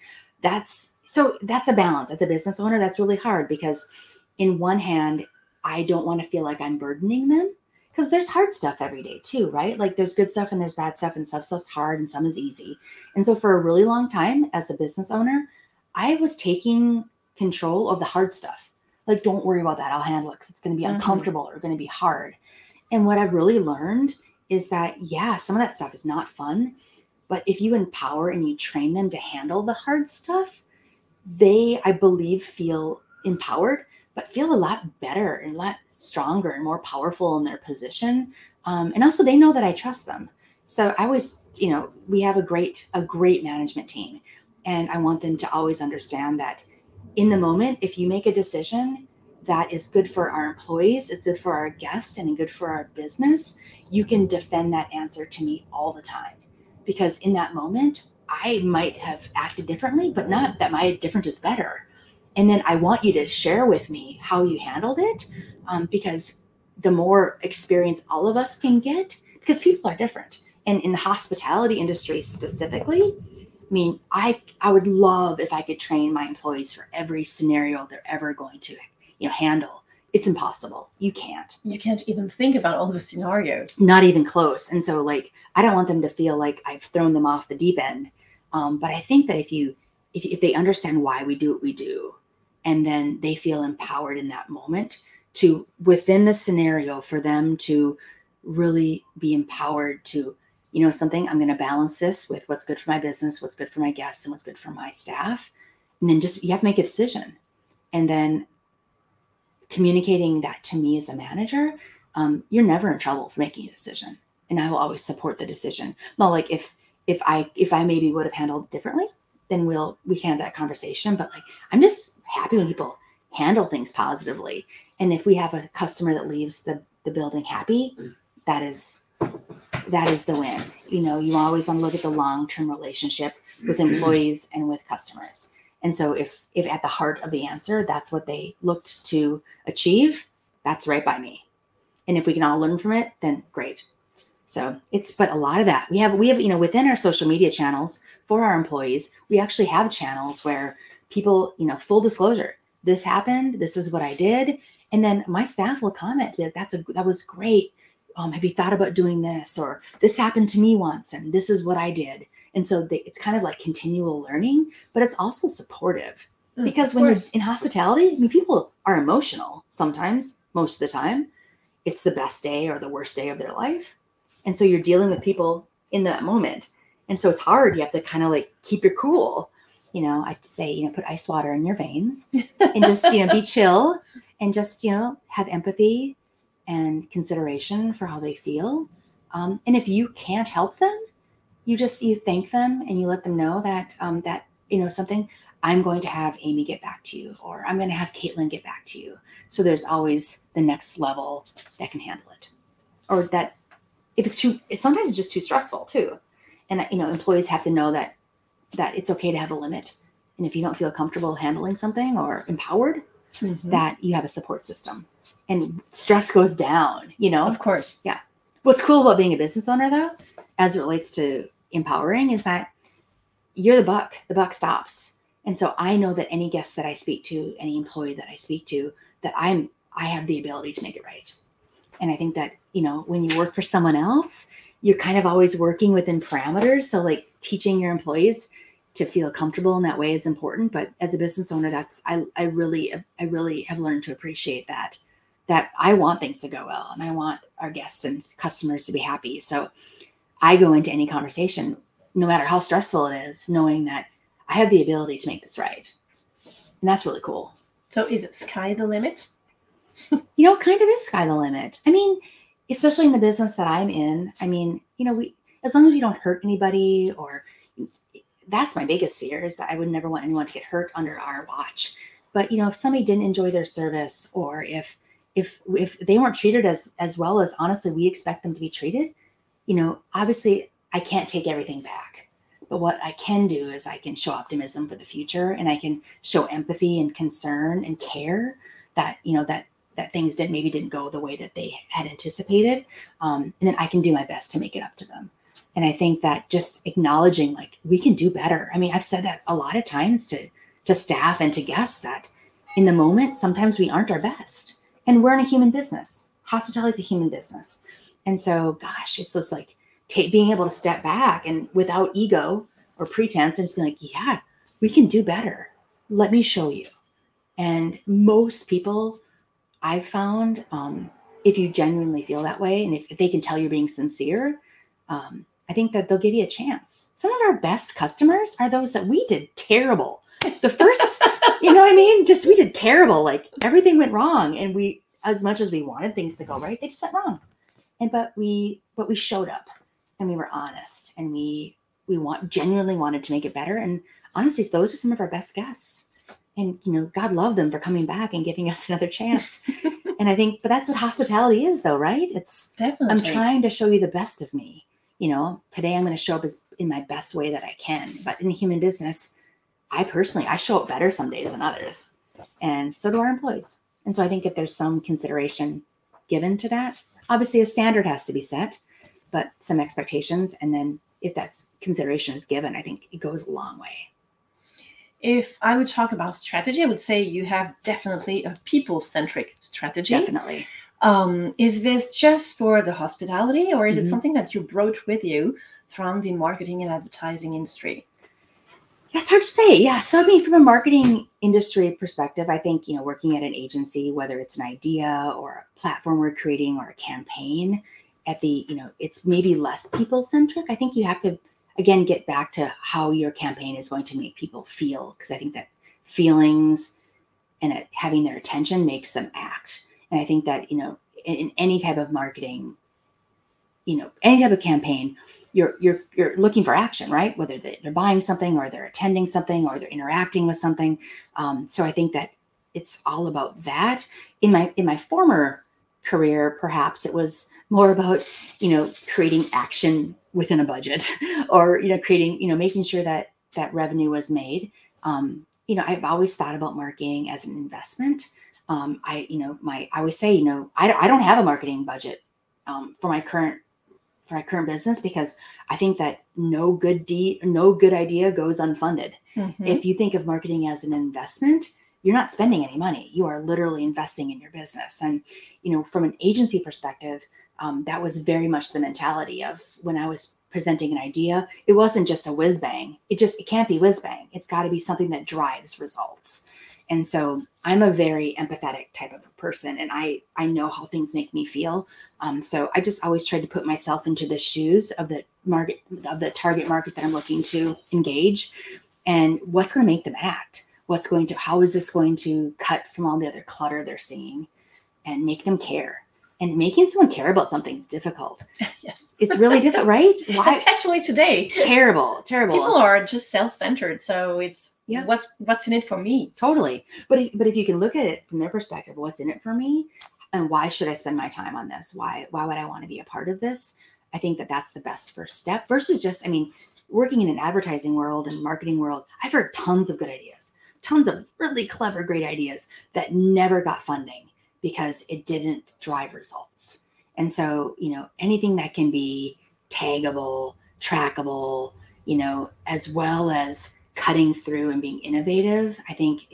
a balance. As a business owner, that's really hard, because in one hand, I don't want to feel like I'm burdening them, because there's hard stuff every day too, right? Like, there's good stuff and there's bad stuff, and stuff's hard and some is easy. And so for a really long time as a business owner, I was taking control of the hard stuff. Like, don't worry about that. I'll handle it, because it's going to be uncomfortable or going to be hard. And what I've really learned is that, yeah, some of that stuff is not fun, but if you empower and you train them to handle the hard stuff, they, I believe, feel empowered, but feel a lot better and a lot stronger and more powerful in their position. And also they know that I trust them. So I always, we have a great management team, and I want them to always understand that in the moment, if you make a decision that is good for our employees, it's good for our guests, and good for our business, you can defend that answer to me all the time. Because in that moment, I might have acted differently, but not that my different is better. And then I want you to share with me how you handled it, because the more experience all of us can get, because people are different. And in the hospitality industry specifically, I mean, I would love if I could train my employees for every scenario they're ever going to, handle. It's impossible. You can't. You can't even think about all the scenarios. Not even close. And so, like, I don't want them to feel like I've thrown them off the deep end. But I think that if they understand why we do what we do, and then they feel empowered in that moment to, within the scenario, for them to really be empowered to, something, I'm going to balance this with what's good for my business, what's good for my guests, and what's good for my staff. And then you have to make a decision. And then communicating that to me as a manager, you're never in trouble for making a decision. And I will always support the decision. Now, like if I maybe would have handled it differently, then we can have that conversation. But like, I'm just happy when people handle things positively. And if we have a customer that leaves the building happy, that is the win. You always want to look at the long-term relationship with employees and with customers. And so if at the heart of the answer, that's what they looked to achieve, that's right by me. And if we can all learn from it, then great. So but a lot of that we have, within our social media channels for our employees, we actually have channels where people, full disclosure, this happened, this is what I did. And then my staff will comment, be like, that was great. Have you thought about doing this? Or this happened to me once and this is what I did. And so it's kind of like continual learning, but it's also supportive because when you're in hospitality, I mean, people are emotional sometimes, most of the time. It's the best day or the worst day of their life. And so you're dealing with people in that moment. And so it's hard. You have to kind of like keep your cool. I say, put ice water in your veins and just, be chill and just, have empathy and consideration for how they feel. And if you can't help them, you thank them and you let them know that, something, I'm going to have Amy get back to you, or I'm going to have Caitlin get back to you. So there's always the next level that can handle it. Or that if it's sometimes just too stressful too. And, employees have to know that it's okay to have a limit. And if you don't feel comfortable handling something or empowered, that you have a support system and stress goes down, Of course. Yeah. What's cool about being a business owner though, as it relates to empowering, is that you're the buck stops. And so I know that any guest that I speak to, any employee that I speak to, that I have the ability to make it right. And I think that, when you work for someone else, you're kind of always working within parameters. So like teaching your employees to feel comfortable in that way is important. But as a business owner, I really have learned to appreciate that I want things to go well and I want our guests and customers to be happy. So I go into any conversation, no matter how stressful it is, knowing that I have the ability to make this right. And that's really cool. So is it sky the limit? Kind of is sky the limit. I mean, especially in the business that I'm in, I mean, as long as you don't hurt anybody, or that's my biggest fear, is that I would never want anyone to get hurt under our watch. But, if somebody didn't enjoy their service, or if they weren't treated as well as honestly we expect them to be treated, obviously I can't take everything back. But what I can do is I can show optimism for the future, and I can show empathy and concern and care that, that things didn't go the way that they had anticipated. And then I can do my best to make it up to them. And I think that just acknowledging, like, we can do better. I mean, I've said that a lot of times to staff and to guests, that in the moment, sometimes we aren't our best. And we're in a human business. Hospitality is a human business. And so, gosh, it's just like being able to step back and without ego or pretense and just be like, yeah, we can do better. Let me show you. And most people I've found, if you genuinely feel that way, and if they can tell you're being sincere, I think that they'll give you a chance. Some of our best customers are those that we did terrible. The first, you know what I mean? Just we did terrible. Like everything went wrong, and we, as much as we wanted things to go right, they just went wrong. But we showed up, and we were honest, and we genuinely wanted to make it better. And honestly, those are some of our best guests. And, God love them for coming back and giving us another chance. And I think, but that's what hospitality is though, right? It's definitely, I'm trying to show you the best of me. Today I'm going to show up in my best way that I can. But in a human business, I show up better some days than others. And so do our employees. And so I think if there's some consideration given to that. Obviously, a standard has to be set, but some expectations. And then if that's consideration is given, I think it goes a long way. If I would talk about strategy, I would say you have definitely a people-centric strategy. Definitely. Is this just for the hospitality, or is it Mhm. something that you brought with you from the marketing and advertising industry? Yeah, it's hard to say. Yeah. So, I mean, from a marketing industry perspective, I think, working at an agency, whether it's an idea or a platform we're creating or a campaign, it's maybe less people centric. I think you have to, again, get back to how your campaign is going to make people feel, because I think that feelings and having their attention makes them act. And I think that, in any type of marketing, any type of campaign, you're looking for action, right? Whether they're buying something or they're attending something or they're interacting with something. So I think that it's all about that. In my former career, perhaps it was more about, creating action within a budget or, creating, making sure that revenue was made. I've always thought about marketing as an investment. I always say, I don't have a marketing budget for my current business, because I think that no good idea goes unfunded. Mm-hmm. If you think of marketing as an investment, you're not spending any money. You are literally investing in your business. And, from an agency perspective, that was very much the mentality of when I was presenting an idea. It wasn't just a whiz bang. It can't be whiz bang. It's got to be something that drives results. And so I'm a very empathetic type of a person, and I know how things make me feel. So I just always try to put myself into the shoes of the target market that I'm looking to engage, and what's going to make them act. How is this going to cut from all the other clutter they're seeing and make them care? And making someone care about something is difficult. Yes. It's really difficult, right? Why? Especially today. Terrible. People are just self-centered. So it's what's in it for me? Totally. But if you can look at it from their perspective, what's in it for me? And why should I spend my time on this? Why would I want to be a part of this? I think that that's the best first step versus just, working in an advertising world and marketing world, I've heard tons of good ideas, tons of really clever, great ideas that never got funding because it didn't drive results. And so, anything that can be taggable, trackable, as well as cutting through and being innovative, I think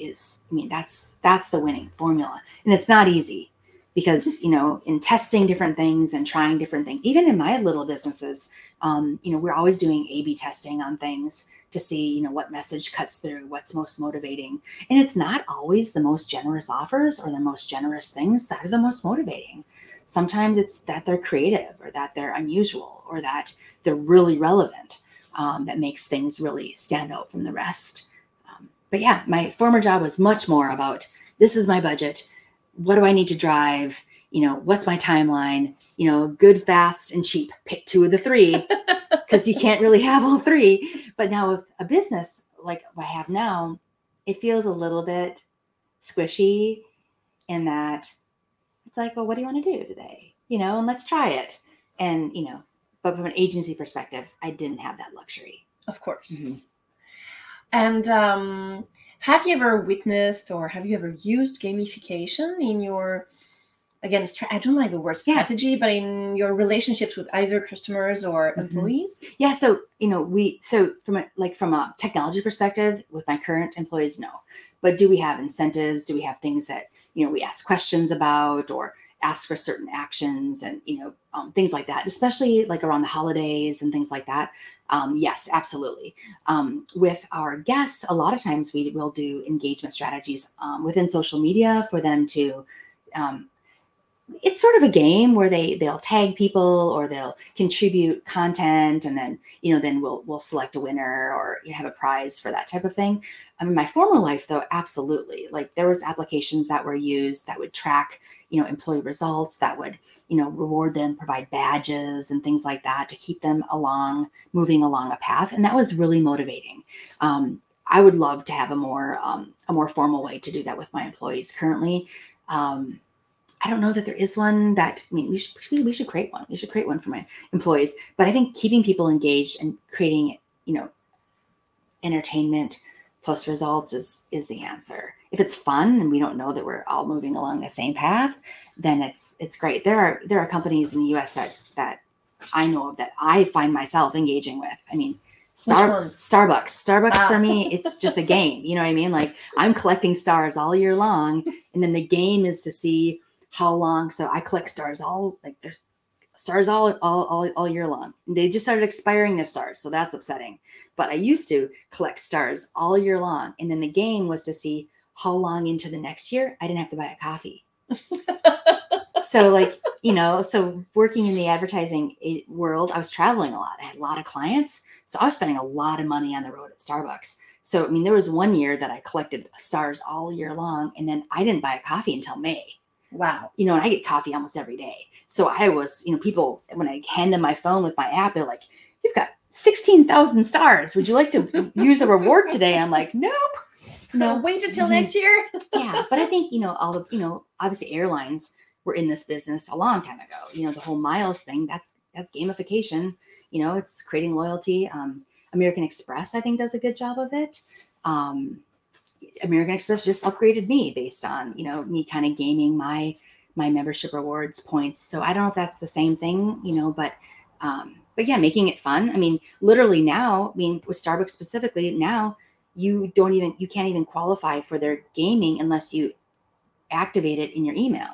that's the winning formula. And it's not easy because, in testing different things and trying different things, even in my little businesses, we're always doing A/B testing on things to see, what message cuts through, what's most motivating. And it's not always the most generous offers or the most generous things that are the most motivating. Sometimes it's that they're creative or that they're unusual or that they're really relevant, that makes things really stand out from the rest. But yeah, my former job was much more about, this is my budget. What do I need to drive? What's my timeline? Good, fast, and cheap. Pick two of the three, because you can't really have all three. But now with a business like I have now, it feels a little bit squishy in that it's like, well, what do you want to do today? And let's try it. And, but from an agency perspective, I didn't have that luxury. Of course. Mm-hmm. And have you ever witnessed or have you ever used gamification in your, again, I don't like the word strategy, but in your relationships with either customers or employees? Yeah. So, from a technology perspective with my current employees, no. But do we have incentives? Do we have things that, we ask questions about or ask for certain actions and, things like that, especially like around the holidays and things like that. Yes, absolutely. With our guests, a lot of times we will do engagement strategies within social media for them to, it's sort of a game where they'll tag people or they'll contribute content, and then then we'll select a winner or have a prize for that type of thing. In my former life, though, absolutely, like there was applications that were used that would track employee results, that would reward them, provide badges and things like that to keep them moving along a path, and that was really motivating. I would love to have a more formal way to do that with my employees currently. I don't know that there is one that, we should create one. We should create one for my employees. But I think keeping people engaged and creating, entertainment plus results is the answer. If it's fun and we don't know that we're all moving along the same path, then it's great. There are companies in the US that I know of that I find myself engaging with. I mean, Starbucks for me, it's just a game. You know what I mean? Like, I'm collecting stars all year long, and then the game is to see how long. So I collect stars there's stars all year long. They just started expiring their stars, so that's upsetting. But I used to collect stars all year long, and then the game was to see how long into the next year I didn't have to buy a coffee. So, like, so working in the advertising world, I was traveling a lot. I had a lot of clients, so I was spending a lot of money on the road at Starbucks. So, I mean, there was one year that I collected stars all year long, and then I didn't buy a coffee until May. Wow. And I get coffee almost every day. So I was, people, when I hand them my phone with my app, they're like, "You've got 16,000 stars. Would you like to use a reward today?" I'm like, "Nope. No, wait until next year." Yeah. But I think, all the, obviously airlines were in this business a long time ago. The whole miles thing, that's gamification. It's creating loyalty. American Express, I think, does a good job of it. American Express just upgraded me based on, me kind of gaming my membership rewards points. So I don't know if that's the same thing, but yeah, making it fun. I mean, literally now, with Starbucks specifically, now you can't even qualify for their gaming unless you activate it in your email.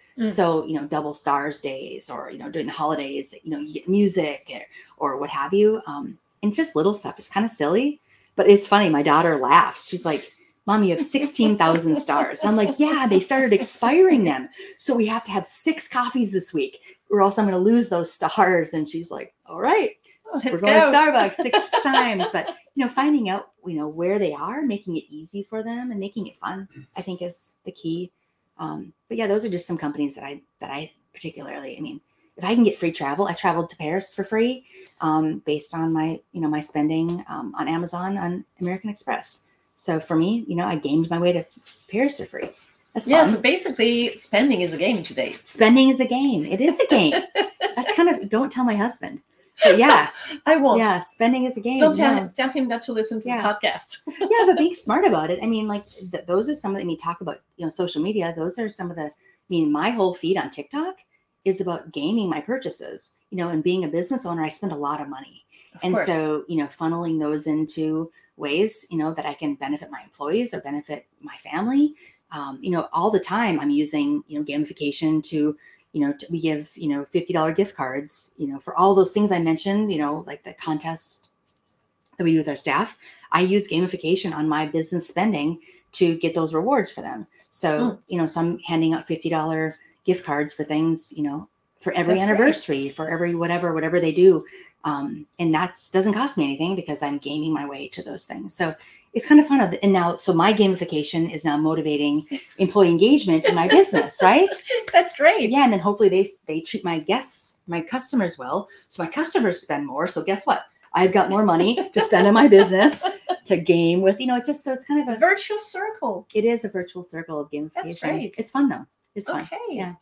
So, double stars days, or, during the holidays, you get music or what have you. And just little stuff. It's kind of silly, but it's funny. My daughter laughs. She's like, "Mom, you have 16,000 stars." And I'm like, "Yeah, they started expiring them. So we have to have 6 coffees this week, or else I'm going to lose those stars." And she's like, "All right, we're going to Starbucks 6 times." But, finding out, where they are, making it easy for them and making it fun, I think is the key. But yeah, those are just some companies that I particularly, if I can get free travel, I traveled to Paris for free, based on my, my spending, on Amazon, on American Express. So for me, I gamed my way to Paris for free. That's fun. So basically spending is a game today. Spending is a game. It is a game. That's kind of, don't tell my husband. But yeah. I won't. Yeah, spending is a game. Don't tell him not to listen to the podcast. Yeah, but being smart about it. Those are some of the, talk about, social media. Those are some of the, my whole feed on TikTok is about gaming my purchases, and being a business owner, I spend a lot of money. And so, funneling those into ways, that I can benefit my employees or benefit my family. All the time I'm using, gamification to, we give, $50 gift cards, for all those things I mentioned, like the contest that we do with our staff. I use gamification on my business spending to get those rewards for them. So, so I'm handing out $50 gift cards for things, for every anniversary, for every whatever they do. And that doesn't cost me anything because I'm gaming my way to those things. So it's kind of fun. And now, so my gamification is now motivating employee engagement in my business, right? That's great. Yeah. And then hopefully they treat my guests, my customers well. So my customers spend more. So guess what? I've got more money to spend on my business to game with, it's just, so it's kind of a virtual circle. It is a virtual circle of gamification. That's great. It's fun though. It's fun. Okay. Yeah.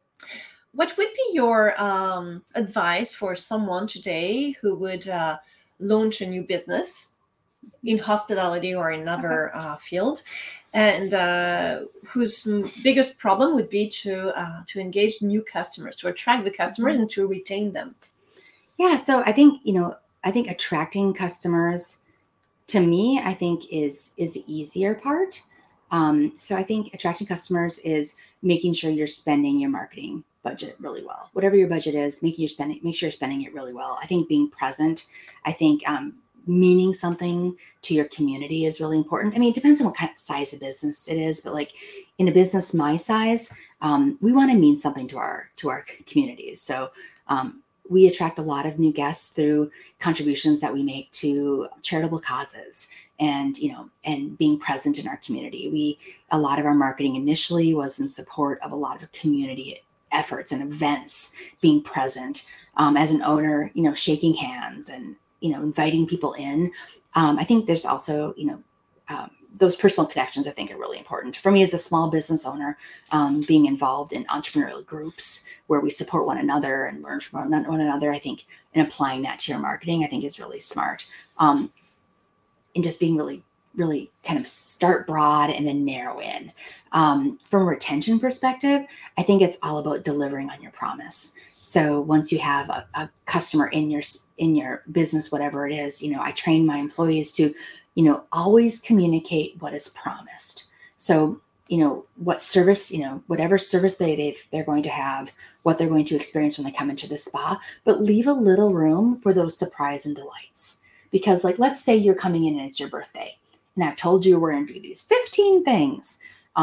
What would be your advice for someone today who would launch a new business in hospitality or in another field, and whose biggest problem would be to engage new customers, to attract the customers and to retain them? Yeah. So I think, attracting customers, to me, I think is the easier part. So I think attracting customers is making sure you're spending your marketing budget really well. Whatever your budget is, make sure you're spending it really well. I think being present, I think meaning something to your community is really important. It depends on what kind of size of business it is, but like in a business my size, we want to mean something to our communities. So we attract a lot of new guests through contributions that we make to charitable causes and, and being present in our community. A lot of our marketing initially was in support of a lot of community efforts and events, being present as an owner, shaking hands and, inviting people in. I think there's also, those personal connections I think are really important. For me as a small business owner, being involved in entrepreneurial groups where we support one another and learn from one another, I think, and applying that to your marketing, I think is really smart. And just being really, really kind of start broad and then narrow in. From a retention perspective, I think it's all about delivering on your promise. So once you have a customer in your business, whatever it is, I train my employees to, always communicate what is promised. So, what service, whatever service they're going to have, what they're going to experience when they come into the spa, but leave a little room for those surprise and delights. Because let's say you're coming in and it's your birthday, and I've told you we're going to do these 15 things,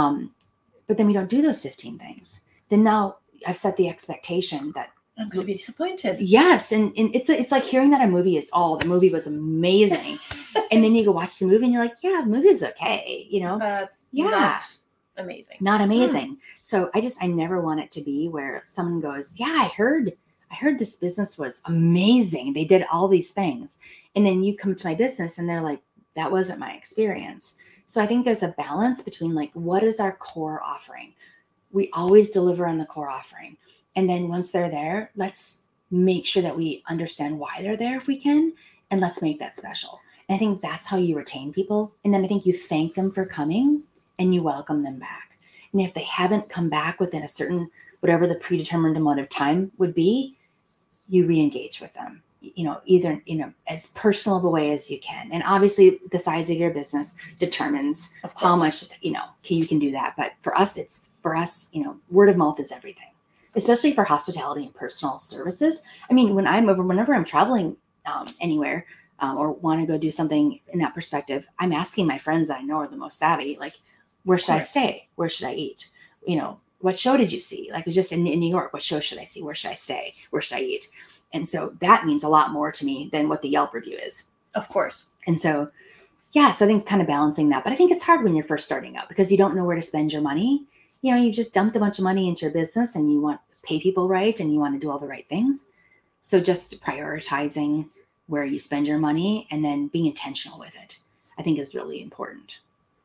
but then we don't do those 15 things. Then now I've set the expectation that I'm going to be disappointed. Yes. And it's like hearing that the movie was amazing. And then you go watch the movie and you're like, yeah, the movie is okay, But yeah, not amazing. Not amazing. So I never want it to be where someone goes, yeah, I heard this business was amazing. They did all these things. And then you come to my business and they're like, that wasn't my experience. So I think there's a balance between what is our core offering? We always deliver on the core offering. And then once they're there, let's make sure that we understand why they're there if we can, and let's make that special. And I think that's how you retain people. And then I think you thank them for coming and you welcome them back. And if they haven't come back within a certain, whatever the predetermined amount of time would be, you re-engage with them, either, as personal of a way as you can. And obviously the size of your business determines how much, you can do that. But for us, word of mouth is everything, especially for hospitality and personal services. I mean, whenever I'm traveling anywhere or want to go do something in that perspective, I'm asking my friends that I know are the most savvy, where should I stay? Where should I eat? What show did you see? Just in New York, what show should I see? Where should I stay? Where should I eat? And so that means a lot more to me than what the Yelp review is. Of course. And so, so I think kind of balancing that, but I think it's hard when you're first starting out because you don't know where to spend your money. You just dumped a bunch of money into your business and you want to pay people right and you want to do all the right things. So just prioritizing where you spend your money and then being intentional with it, I think is really important.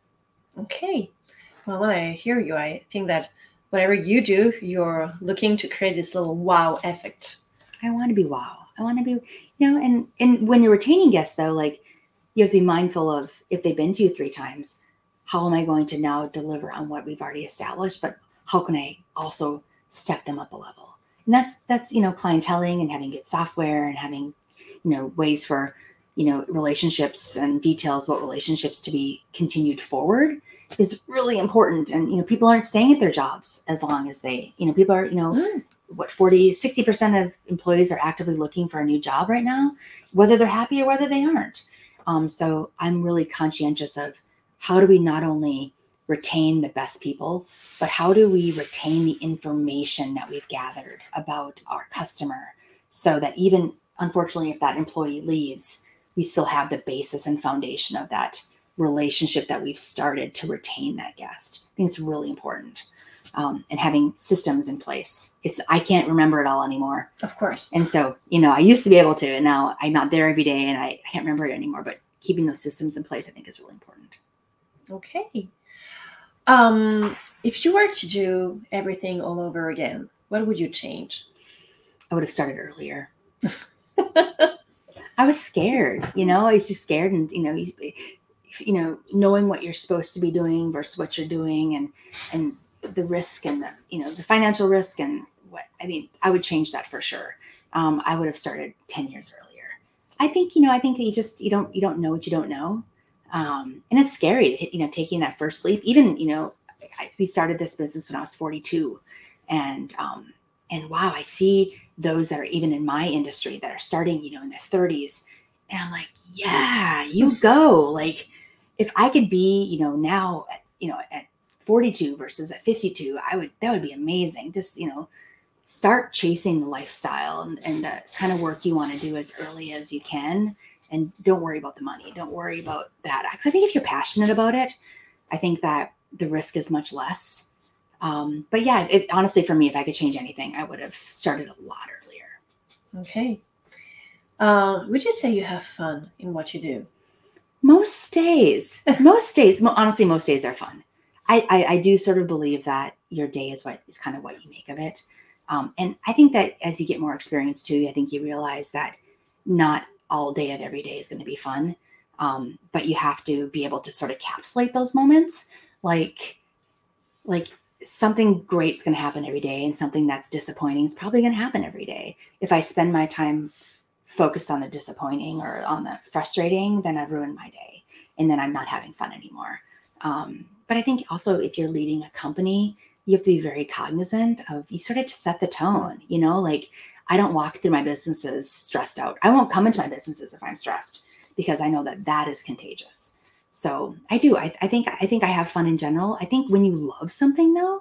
Okay. Well, when I hear you, I think that whatever you do, you're looking to create this little wow effect. I want to be wow. I want to be, and when you're retaining guests though, you have to be mindful of if they've been to you 3 times, how am I going to now deliver on what we've already established, but how can I also step them up a level? And that's clienteling and having good software and having, ways for, relationships and details about relationships to be continued forward is really important. And, people aren't staying at their jobs as long as they, people are, 60% of employees are actively looking for a new job right now, whether they're happy or whether they aren't. So I'm really conscientious of how do we not only retain the best people, but how do we retain the information that we've gathered about our customer so that even, unfortunately, if that employee leaves, we still have the basis and foundation of that relationship that we've started to retain that guest. I think it's really important. And having systems in place. I can't remember it all anymore. Of course. And so, I used to be able to, and now I'm not there every day and I can't remember it anymore, but keeping those systems in place, I think is really important. Okay. If you were to do everything all over again, what would you change? I would have started earlier. I was scared, I was just scared and, knowing what you're supposed to be doing versus what you're doing and the risk and the financial risk and I would change that for sure. I would have started 10 years earlier. I think that you don't know what you don't know. And it's scary, taking that first leap. Even, we started this business when I was 42 and wow, I see those that are even in my industry that are starting, in their 30s. And I'm like, yeah, you go. If I could be, now, at 42 versus at 52, that would be amazing. Just, start chasing the lifestyle and the kind of work you want to do as early as you can. And don't worry about the money. Don't worry about that. Because I think if you're passionate about it, I think that the risk is much less. But yeah, honestly, for me, if I could change anything, I would have started a lot earlier. Okay. Would you say you have fun in what you do? Most days, honestly, most days are fun. I do sort of believe that your day is kind of what you make of it. And I think that as you get more experience too, I think you realize that not all day of every day is going to be fun. But you have to be able to sort of encapsulate those moments. Like something great's going to happen every day, and something that's disappointing is probably going to happen every day. If I spend my time focused on the disappointing or on the frustrating, then I've ruined my day, and then I'm not having fun anymore. But I think also if you're leading a company, you have to be very cognizant of, you sort of to set the tone, like I don't walk through my businesses stressed out. I won't come into my businesses if I'm stressed, because I know that is contagious. So I do. I think I have fun in general. I think when you love something though,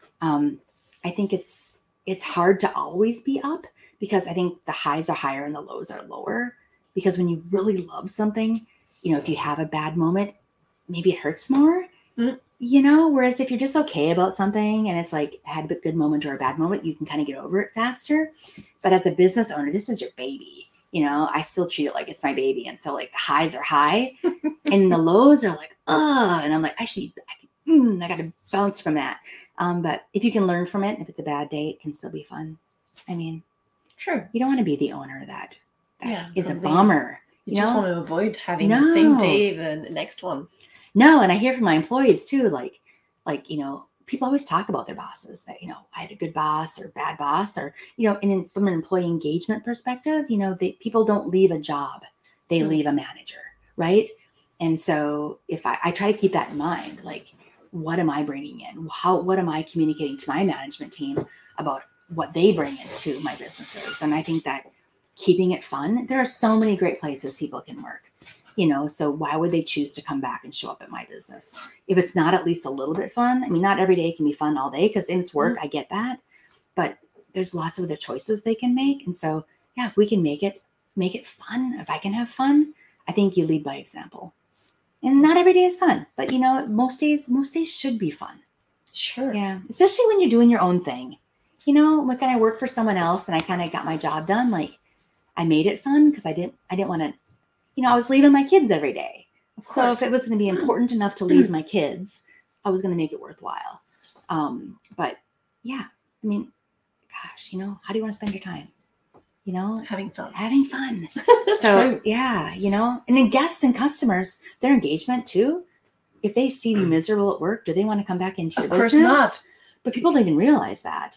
I think it's hard to always be up, because I think the highs are higher and the lows are lower. Because when you really love something, if you have a bad moment, maybe it hurts more, whereas if you're just okay about something and it's like had a good moment or a bad moment, you can kind of get over it faster. But as a business owner, this is your baby. I still treat it like it's my baby. And so like the highs are high and the lows are like, and I'm like, I got to bounce from that. But if you can learn from it, if it's a bad day, it can still be fun. I mean, sure. You don't want to be the owner that is a bummer. You just want to avoid having the same day the next one. No, and I hear from my employees too, like people always talk about their bosses that, I had a good boss or bad boss, or, and from an employee engagement perspective, people don't leave a job, they leave a manager, right? And so if I try to keep that in mind, like, what am I bringing in? What am I communicating to my management team about what they bring into my businesses? And I think that keeping it fun, there are so many great places people can work. So why would they choose to come back and show up at my business if it's not at least a little bit fun? I mean, not every day can be fun all day, because it's work. I get that, but there's lots of other choices they can make. And so, yeah, if we can make it fun, if I can have fun, I think you lead by example. And not every day is fun, but most days should be fun. Sure. Yeah. Especially when you're doing your own thing, like when I work for someone else and I kind of got my job done, like I made it fun because I didn't want to, I was leaving my kids every day. So if it was going to be important enough to leave my kids, I was going to make it worthwhile. But yeah, I mean, gosh, how do you want to spend your time? Having fun. So true. Yeah, and then guests and customers, their engagement too. If they see you miserable at work, do they want to come back into your business? Of course not. But people don't even realize that,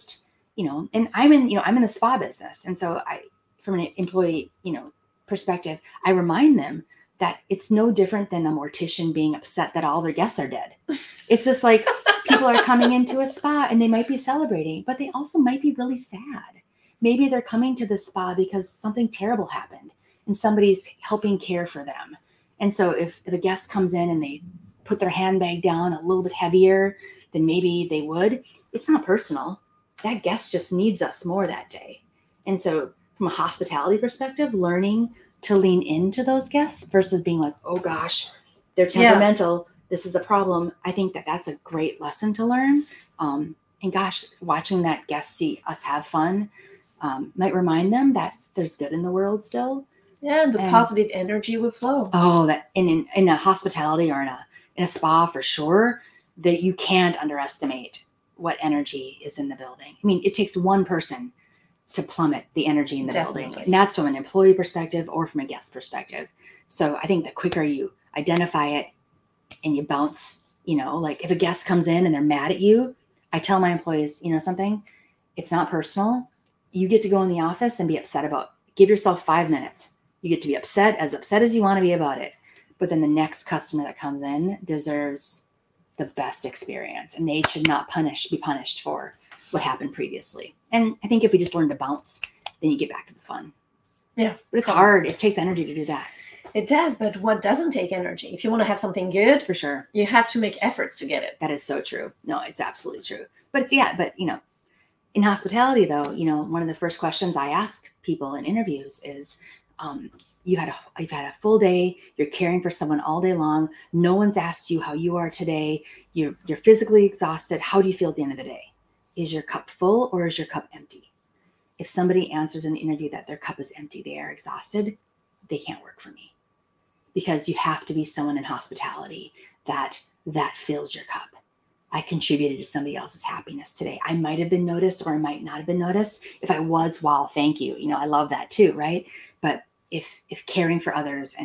and I'm in the spa business. And so from an employee, perspective, I remind them that it's no different than a mortician being upset that all their guests are dead. It's just like people are coming into a spa and they might be celebrating, but they also might be really sad. Maybe they're coming to the spa because something terrible happened and somebody's helping care for them. And so if a guest comes in and they put their handbag down a little bit heavier than maybe they would, it's not personal. That guest just needs us more that day. And so from a hospitality perspective, learning to lean into those guests versus being like, oh gosh, they're temperamental. Yeah. This is a problem. I think that's a great lesson to learn. And gosh, watching that guest see us have fun might remind them that there's good in the world still. Yeah, and the positive energy would flow. Oh, that in a hospitality or in a spa for sure, that you can't underestimate what energy is in the building. I mean, it takes one person to plummet the energy in the building. And that's from an employee perspective or from a guest perspective. So I think the quicker you identify it and you bounce, like if a guest comes in and they're mad at you, I tell my employees, something, it's not personal. You get to go in the office and be upset about, give yourself 5 minutes. You get to be upset as you want to be about it. But then the next customer that comes in deserves the best experience, and they should not be punished for what happened previously. And I think if we just learn to bounce, then you get back to the fun. Yeah. But it's hard. It takes energy to do that. It does, but what doesn't take energy? If you want to have something good, for sure, you have to make efforts to get it. That is so true. No, it's absolutely true. But in hospitality though, one of the first questions I ask people in interviews is, you've had a full day, you're caring for someone all day long. No one's asked you how you are today. You're physically exhausted. How do you feel at the end of the day? Is your cup full or is your cup empty? If somebody answers in the interview that their cup is empty, they are exhausted, they can't work for me. Because you have to be someone in hospitality that fills your cup. I contributed to somebody else's happiness today. I might have been noticed or I might not have been noticed. If I was, wow, thank you. I love that too, right? But if caring for others and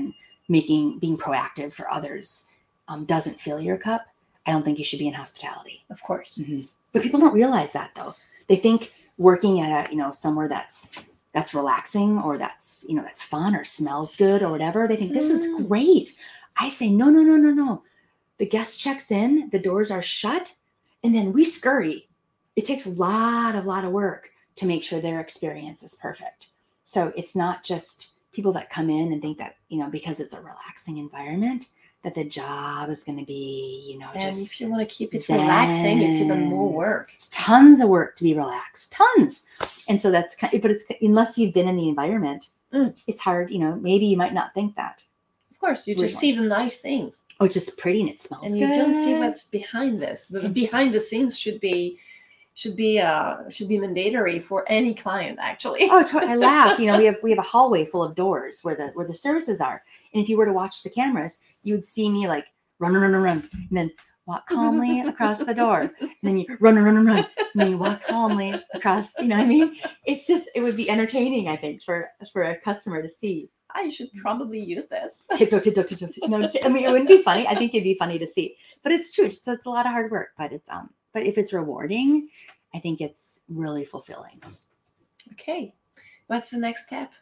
being proactive for others doesn't fill your cup, I don't think you should be in hospitality. Of course. Mm-hmm. But people don't realize that, though. They think working at somewhere that's relaxing, or that's fun, or smells good, or whatever, they think this is great. I say, no. The guest checks in, the doors are shut, and then we scurry. It takes a lot of work to make sure their experience is perfect. So it's not just people that come in and think that, because it's a relaxing environment, that the job is going to be, and just if you want to keep it zen. relaxing, it's even more work. It's tons of work to be relaxed, tons. And so but it's, unless you've been in the environment, it's hard, maybe you might not think that. Of course, you just see the nice things. Oh, it's just pretty and it smells and good. You don't see what's behind this. The behind the scenes should be mandatory for any client, actually. Oh, I laugh. We have a hallway full of doors where the services are, and if you were to watch the cameras, you would see me like run, and then walk calmly across the door, and then you run, and then you walk calmly across. You know what I mean? It's just, it would be entertaining, I think, for a customer to see. I should probably use this. Tiptoe. No, I mean, it wouldn't be funny. I think it'd be funny to see, but it's true. It's a lot of hard work, but it's but if it's rewarding, I think it's really fulfilling. Okay. What's the next step?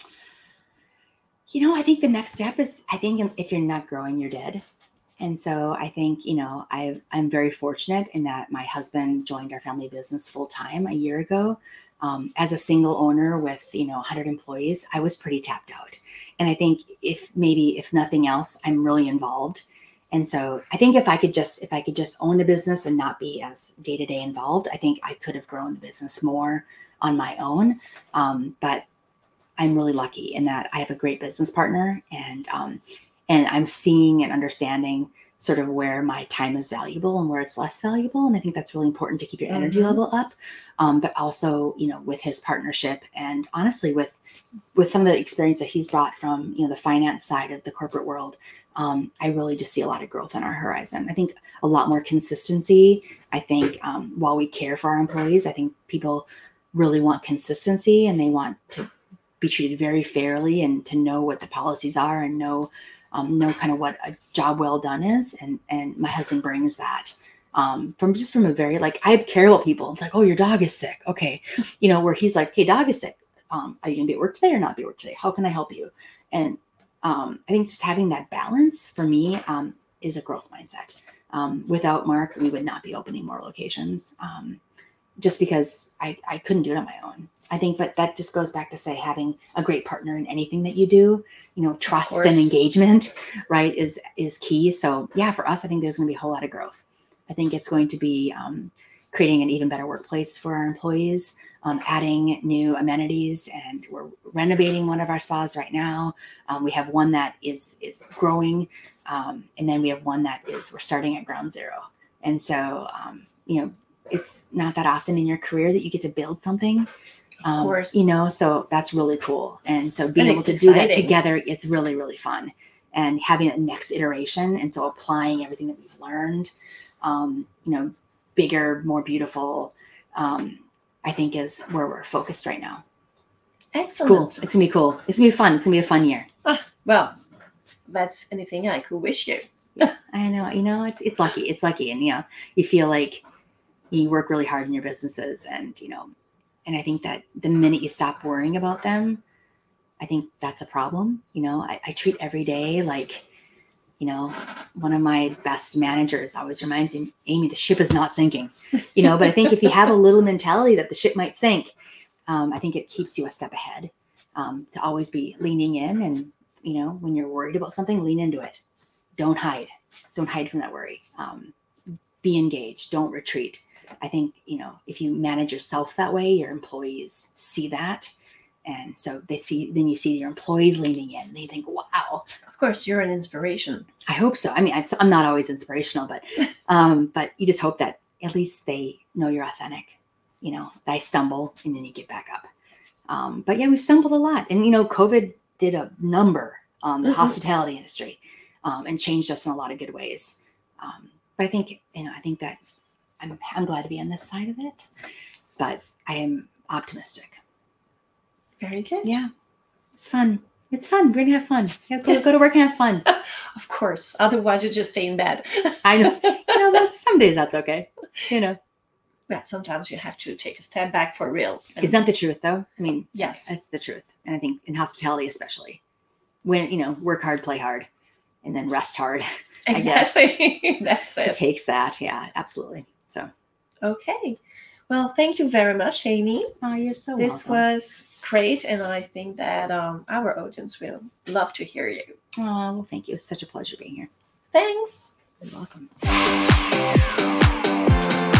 I think the next step is, if you're not growing, you're dead. And so I think, I'm very fortunate in that my husband joined our family business full time a year ago. As a single owner with, 100 employees, I was pretty tapped out. And I think if nothing else, I'm really involved. And so I think if I could just own a business and not be as day-to-day involved, I think I could have grown the business more on my own. But I'm really lucky in that I have a great business partner, and I'm seeing and understanding sort of where my time is valuable and where it's less valuable. And I think that's really important to keep your energy level up. But also, with his partnership, and honestly, with some of the experience that he's brought from, the finance side of the corporate world, I really just see a lot of growth on our horizon. I think a lot more consistency. I think while we care for our employees, I think people really want consistency, and they want to be treated very fairly, and to know what the policies are, and know kind of what a job well done is. And my husband brings that from a very, like, I care about people. It's like, oh, your dog is sick. Okay. Where he's like, hey, dog is sick. Are you gonna be at work today or not be at work today? How can I help you? And I think just having that balance for me is a growth mindset. Without Mark, we would not be opening more locations, just because I couldn't do it on my own. I think, but that just goes back to say, having a great partner in anything that you do, trust and engagement, right, is key. So yeah, for us, I think there's going to be a whole lot of growth. I think it's going to be creating an even better workplace for our employees, adding new amenities, and we're renovating one of our spas right now. We have one that is growing, and then we have one that we're starting at ground zero. And so, it's not that often in your career that you get to build something. Of course. So that's really cool. And so being able to do that together, it's really, really fun. And having a next iteration. And so applying everything that we've learned, bigger, more beautiful, I think is where we're focused right now. Excellent. Cool. It's going to be cool. It's going to be fun. It's going to be a fun year. Well, that's anything I could wish you. Yeah, I know. It's lucky. It's lucky. And, you feel like you work really hard in your businesses, and, and I think that the minute you stop worrying about them, I think that's a problem. I treat every day like, one of my best managers always reminds me, Amy, the ship is not sinking, but I think if you have a little mentality that the ship might sink, I think it keeps you a step ahead, to always be leaning in. And, when you're worried about something, lean into it. Don't hide from that worry. Be engaged. Don't retreat. I think, if you manage yourself that way, your employees see that. And so then you see your employees leaning in, and they think, wow. Of course, you're an inspiration. I hope so. I mean, I'm not always inspirational, but you just hope that at least they know you're authentic, that I stumble and then you get back up. But yeah, we stumbled a lot. And, COVID did a number on the hospitality industry, and changed us in a lot of good ways. But I think that I'm glad to be on this side of it, but I am optimistic. Very good. Yeah. It's fun. It's fun. We're gonna have fun. Yeah, go to work and have fun. Of course. Otherwise, you just stay in bed. I know. Some days that's okay. Yeah, sometimes you have to take a step back for real. It's not the truth, though. I mean, yes, that's the truth. And I think in hospitality, especially, when work hard, play hard, and then rest hard. exactly. That's it. It takes that. Yeah, absolutely. So, okay. Well, thank you very much, Amy. Oh, you're so This welcome. was great, and I think that our audience will love to hear you. Oh, well, thank you. It's such a pleasure being here. Thanks. You're welcome.